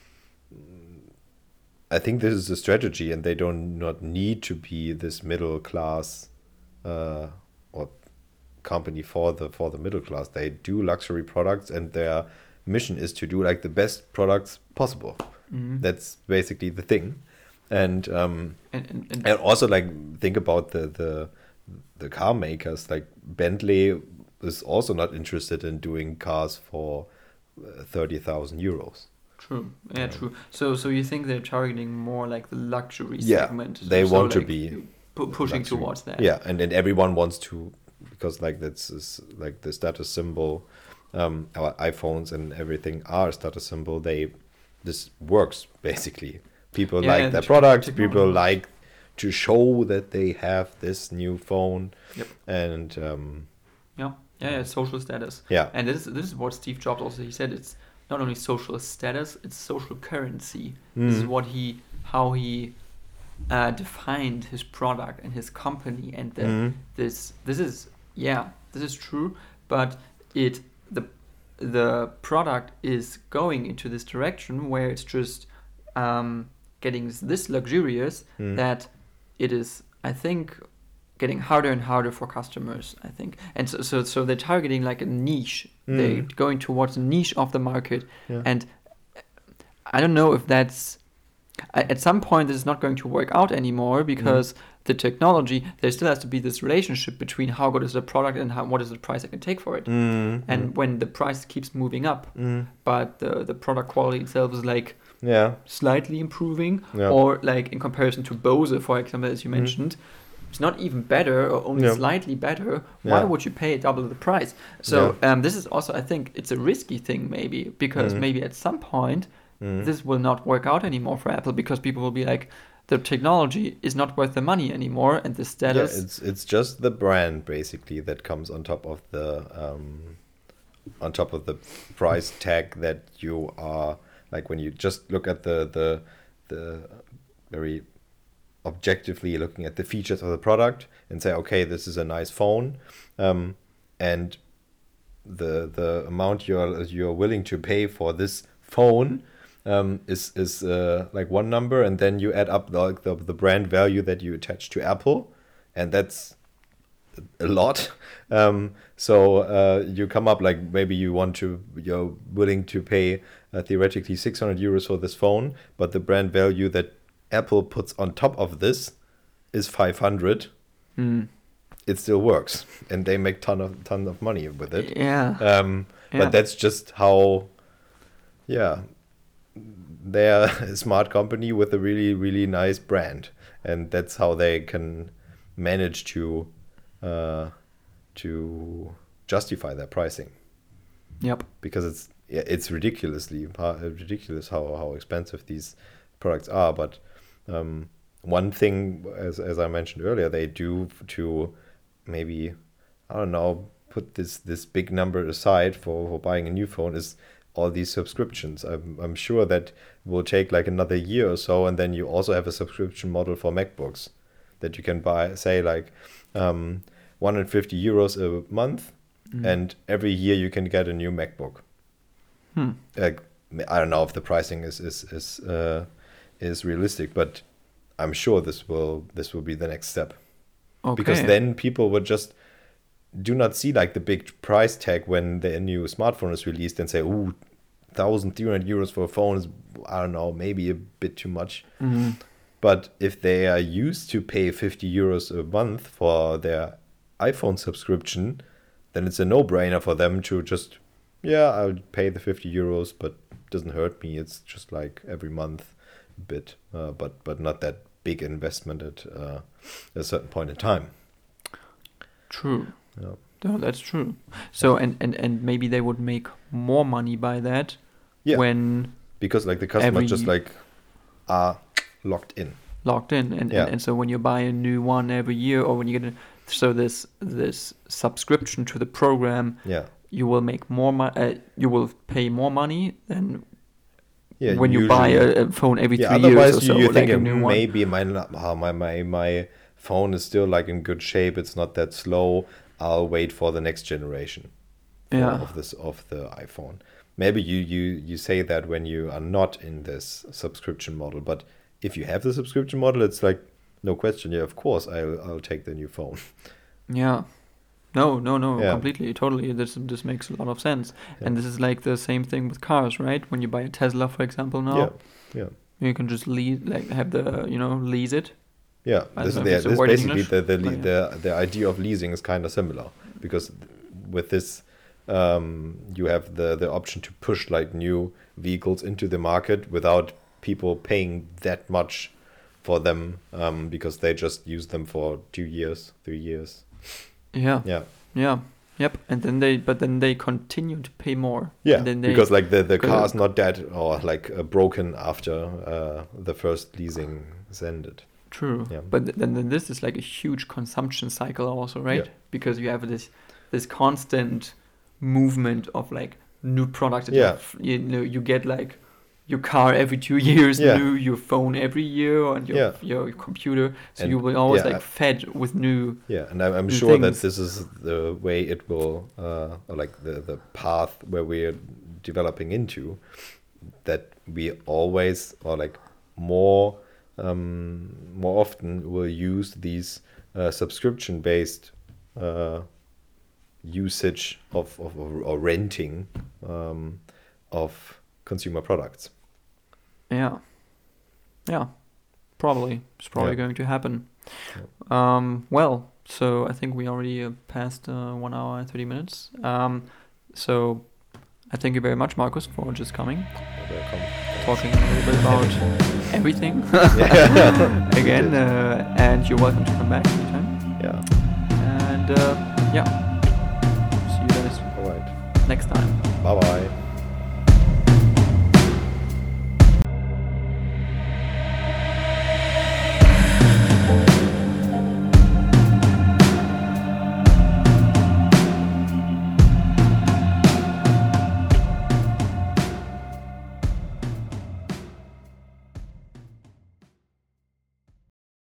I think this is a strategy, and they do not need to be this middle class uh, or company for the for the middle class. They do luxury products, and their mission is to do like the best products possible. Mhm. That's basically the thing, and um, And, and, and, and also like think about the the the car makers. Like Bentley is also not interested in doing cars for uh, thirty thousand euros. true. Yeah, Yeah. true. So so you think they're targeting more like the luxury Yeah, segment? So- they so want to like be pu- pushing luxury. towards that. Yeah, and and everyone wants to, because like that's is like the status symbol. Um, our iPhones and everything are a status symbol. They this works basically. People Yeah, like and their the products. technology People works. like to show that they have this new phone. Yep. And um, Yeah, yeah, yeah, social status. yeah, And this is this is what Steve Jobs also he said. It's not only social status; it's social currency. This is Mm. what he how he uh, defined his product and his company. And the, Mhm. this this is yeah, this is true. But it the the product is going into this direction where it's just um, getting this luxurious Mm. that it is, I think, getting harder and harder for customers, I think. And so so, so they're targeting like a niche. They're Mm. going towards a niche of the market. Yeah. And I don't know if that's a- at some point this is not going to work out anymore because the technology, there still has to be this relationship between how good is the product and how what is the price I can take for it. Mm. And when the price keeps moving up, Mm. but the, the product quality itself is like Yeah. slightly improving, Yeah. or like in comparison to Bose, for example, as you Mhm. mentioned, it's not even better or only Yeah. slightly better. Why Yeah. would you pay double the price? So um, this is also, I think, it's a risky thing maybe because Mhm. maybe at some point Mm. this will not work out anymore for Apple because people will be like, the technology is not worth the money anymore, and the Yeah, status. it's it's just the brand basically that comes on top of the um, on top of the price tag that you are, like when you just look at the the the very objectively looking at the features of the product and say, okay, this is a nice phone, um, and the the amount you're you're willing to pay for this phone um, is is uh, like one number, and then you add up like the, the brand value that you attach to Apple, and that's a lot. Um, so uh, you come up like maybe you want to you're willing to pay uh, theoretically six hundred euros for this phone, but the brand value that Apple puts on top of this is five hundred. Mm. it still works, and they make ton of ton of money with it. Yeah. Um, Yeah. But that's just how, yeah, they're a smart company with a really, really nice brand. And that's how they can manage to uh, to justify their pricing. Yep. Because it's yeah, it's ridiculously ridiculous how, how expensive these products are. But um, one thing, as as I mentioned earlier, they do to maybe, I don't know, put this this big number aside for, for buying a new phone is all these subscriptions. I'm I'm sure that will take like another year or so, and then you also have a subscription model for MacBooks that you can buy, say like um, one hundred fifty euros a month, mm. and every year you can get a new MacBook. Hmm. Like, I don't know if the pricing is is is uh, is realistic, but I'm sure this will this will be the next step. Okay. Because then people would just do not see like the big price tag when the new smartphone is released and say, "Ooh, one thousand three hundred euros for a phone is, I don't know, maybe a bit too much." Mm-hmm. But if they are used to pay fifty euros a month for their iPhone subscription, then it's a no-brainer for them to just, yeah, I'll pay the fifty euros, but it doesn't hurt me. It's just like every month a bit, uh, but but not that big investment at uh, a certain point in time. True. Yeah. No, that's true. So and, and, and maybe they would make more money by that Yeah. when Because like the customers every- just like are locked in. locked in, and, Yeah. and and so when you buy a new one every year, or when you get a, so this this subscription to the program, Yeah. you will make more money. Uh, you will pay more money than Yeah. when you buy usually- a, a phone every yeah. three years Otherwise, or so, you, you like think a uh, new one. maybe my uh, my my my phone is still like in good shape. It's not that slow. I'll wait for the next generation. for- Yeah. Of this of the iPhone. Maybe you you you say that when you are not in this subscription model, but if you have the subscription model, it's like no question. Yeah, of course, I'll I'll take the new phone. Yeah. No, no, no, Yeah. completely, totally. This this makes a lot of sense. Yeah. And this is like the same thing with cars, right? When you buy a Tesla, for example, now, Yeah. Yeah. you can just lease, like have the, you know, lease it. Yeah, I this don't is know if the, it's a this word in basically English, the the, but the the idea of leasing is kind of similar, because with this um, you have the the option to push like new vehicles into the market without people paying that much for them, um, because they just use them for two years, three years. Yeah. Yeah, Yeah. Yep. And then they, but then they continue to pay more. yeah, And then they, because like the the because- car is not dead or like uh, broken after uh, the first leasing is ended. True. Yeah. But th- then, then this is like a huge consumption cycle also, right? Yeah. Because you have this this constant movement of like new products. that Yeah. you f- You know, you get like your car every two years, Yeah. new, your phone every year, and your Yeah. your computer. So And you will always yeah, like I- fed with new. Yeah, and I'm, I'm new sure that things. this is the way it will, uh, or like the, the path where we're developing into, that we always, or like more, um, more often will use these uh, subscription-based uh, usage of, of or, or renting um, of consumer products. Yeah. Yeah. Probably. It's probably Yeah. going to happen. Um, well, so I think we already uh, passed uh, one hour and thirty minutes. Um, so I thank you very much, Markus, for just coming, Welcome. talking a little bit about everything Yeah. again. Uh, and you're welcome to come back anytime. Yeah. And uh, yeah, see you guys All right. next time. Bye bye.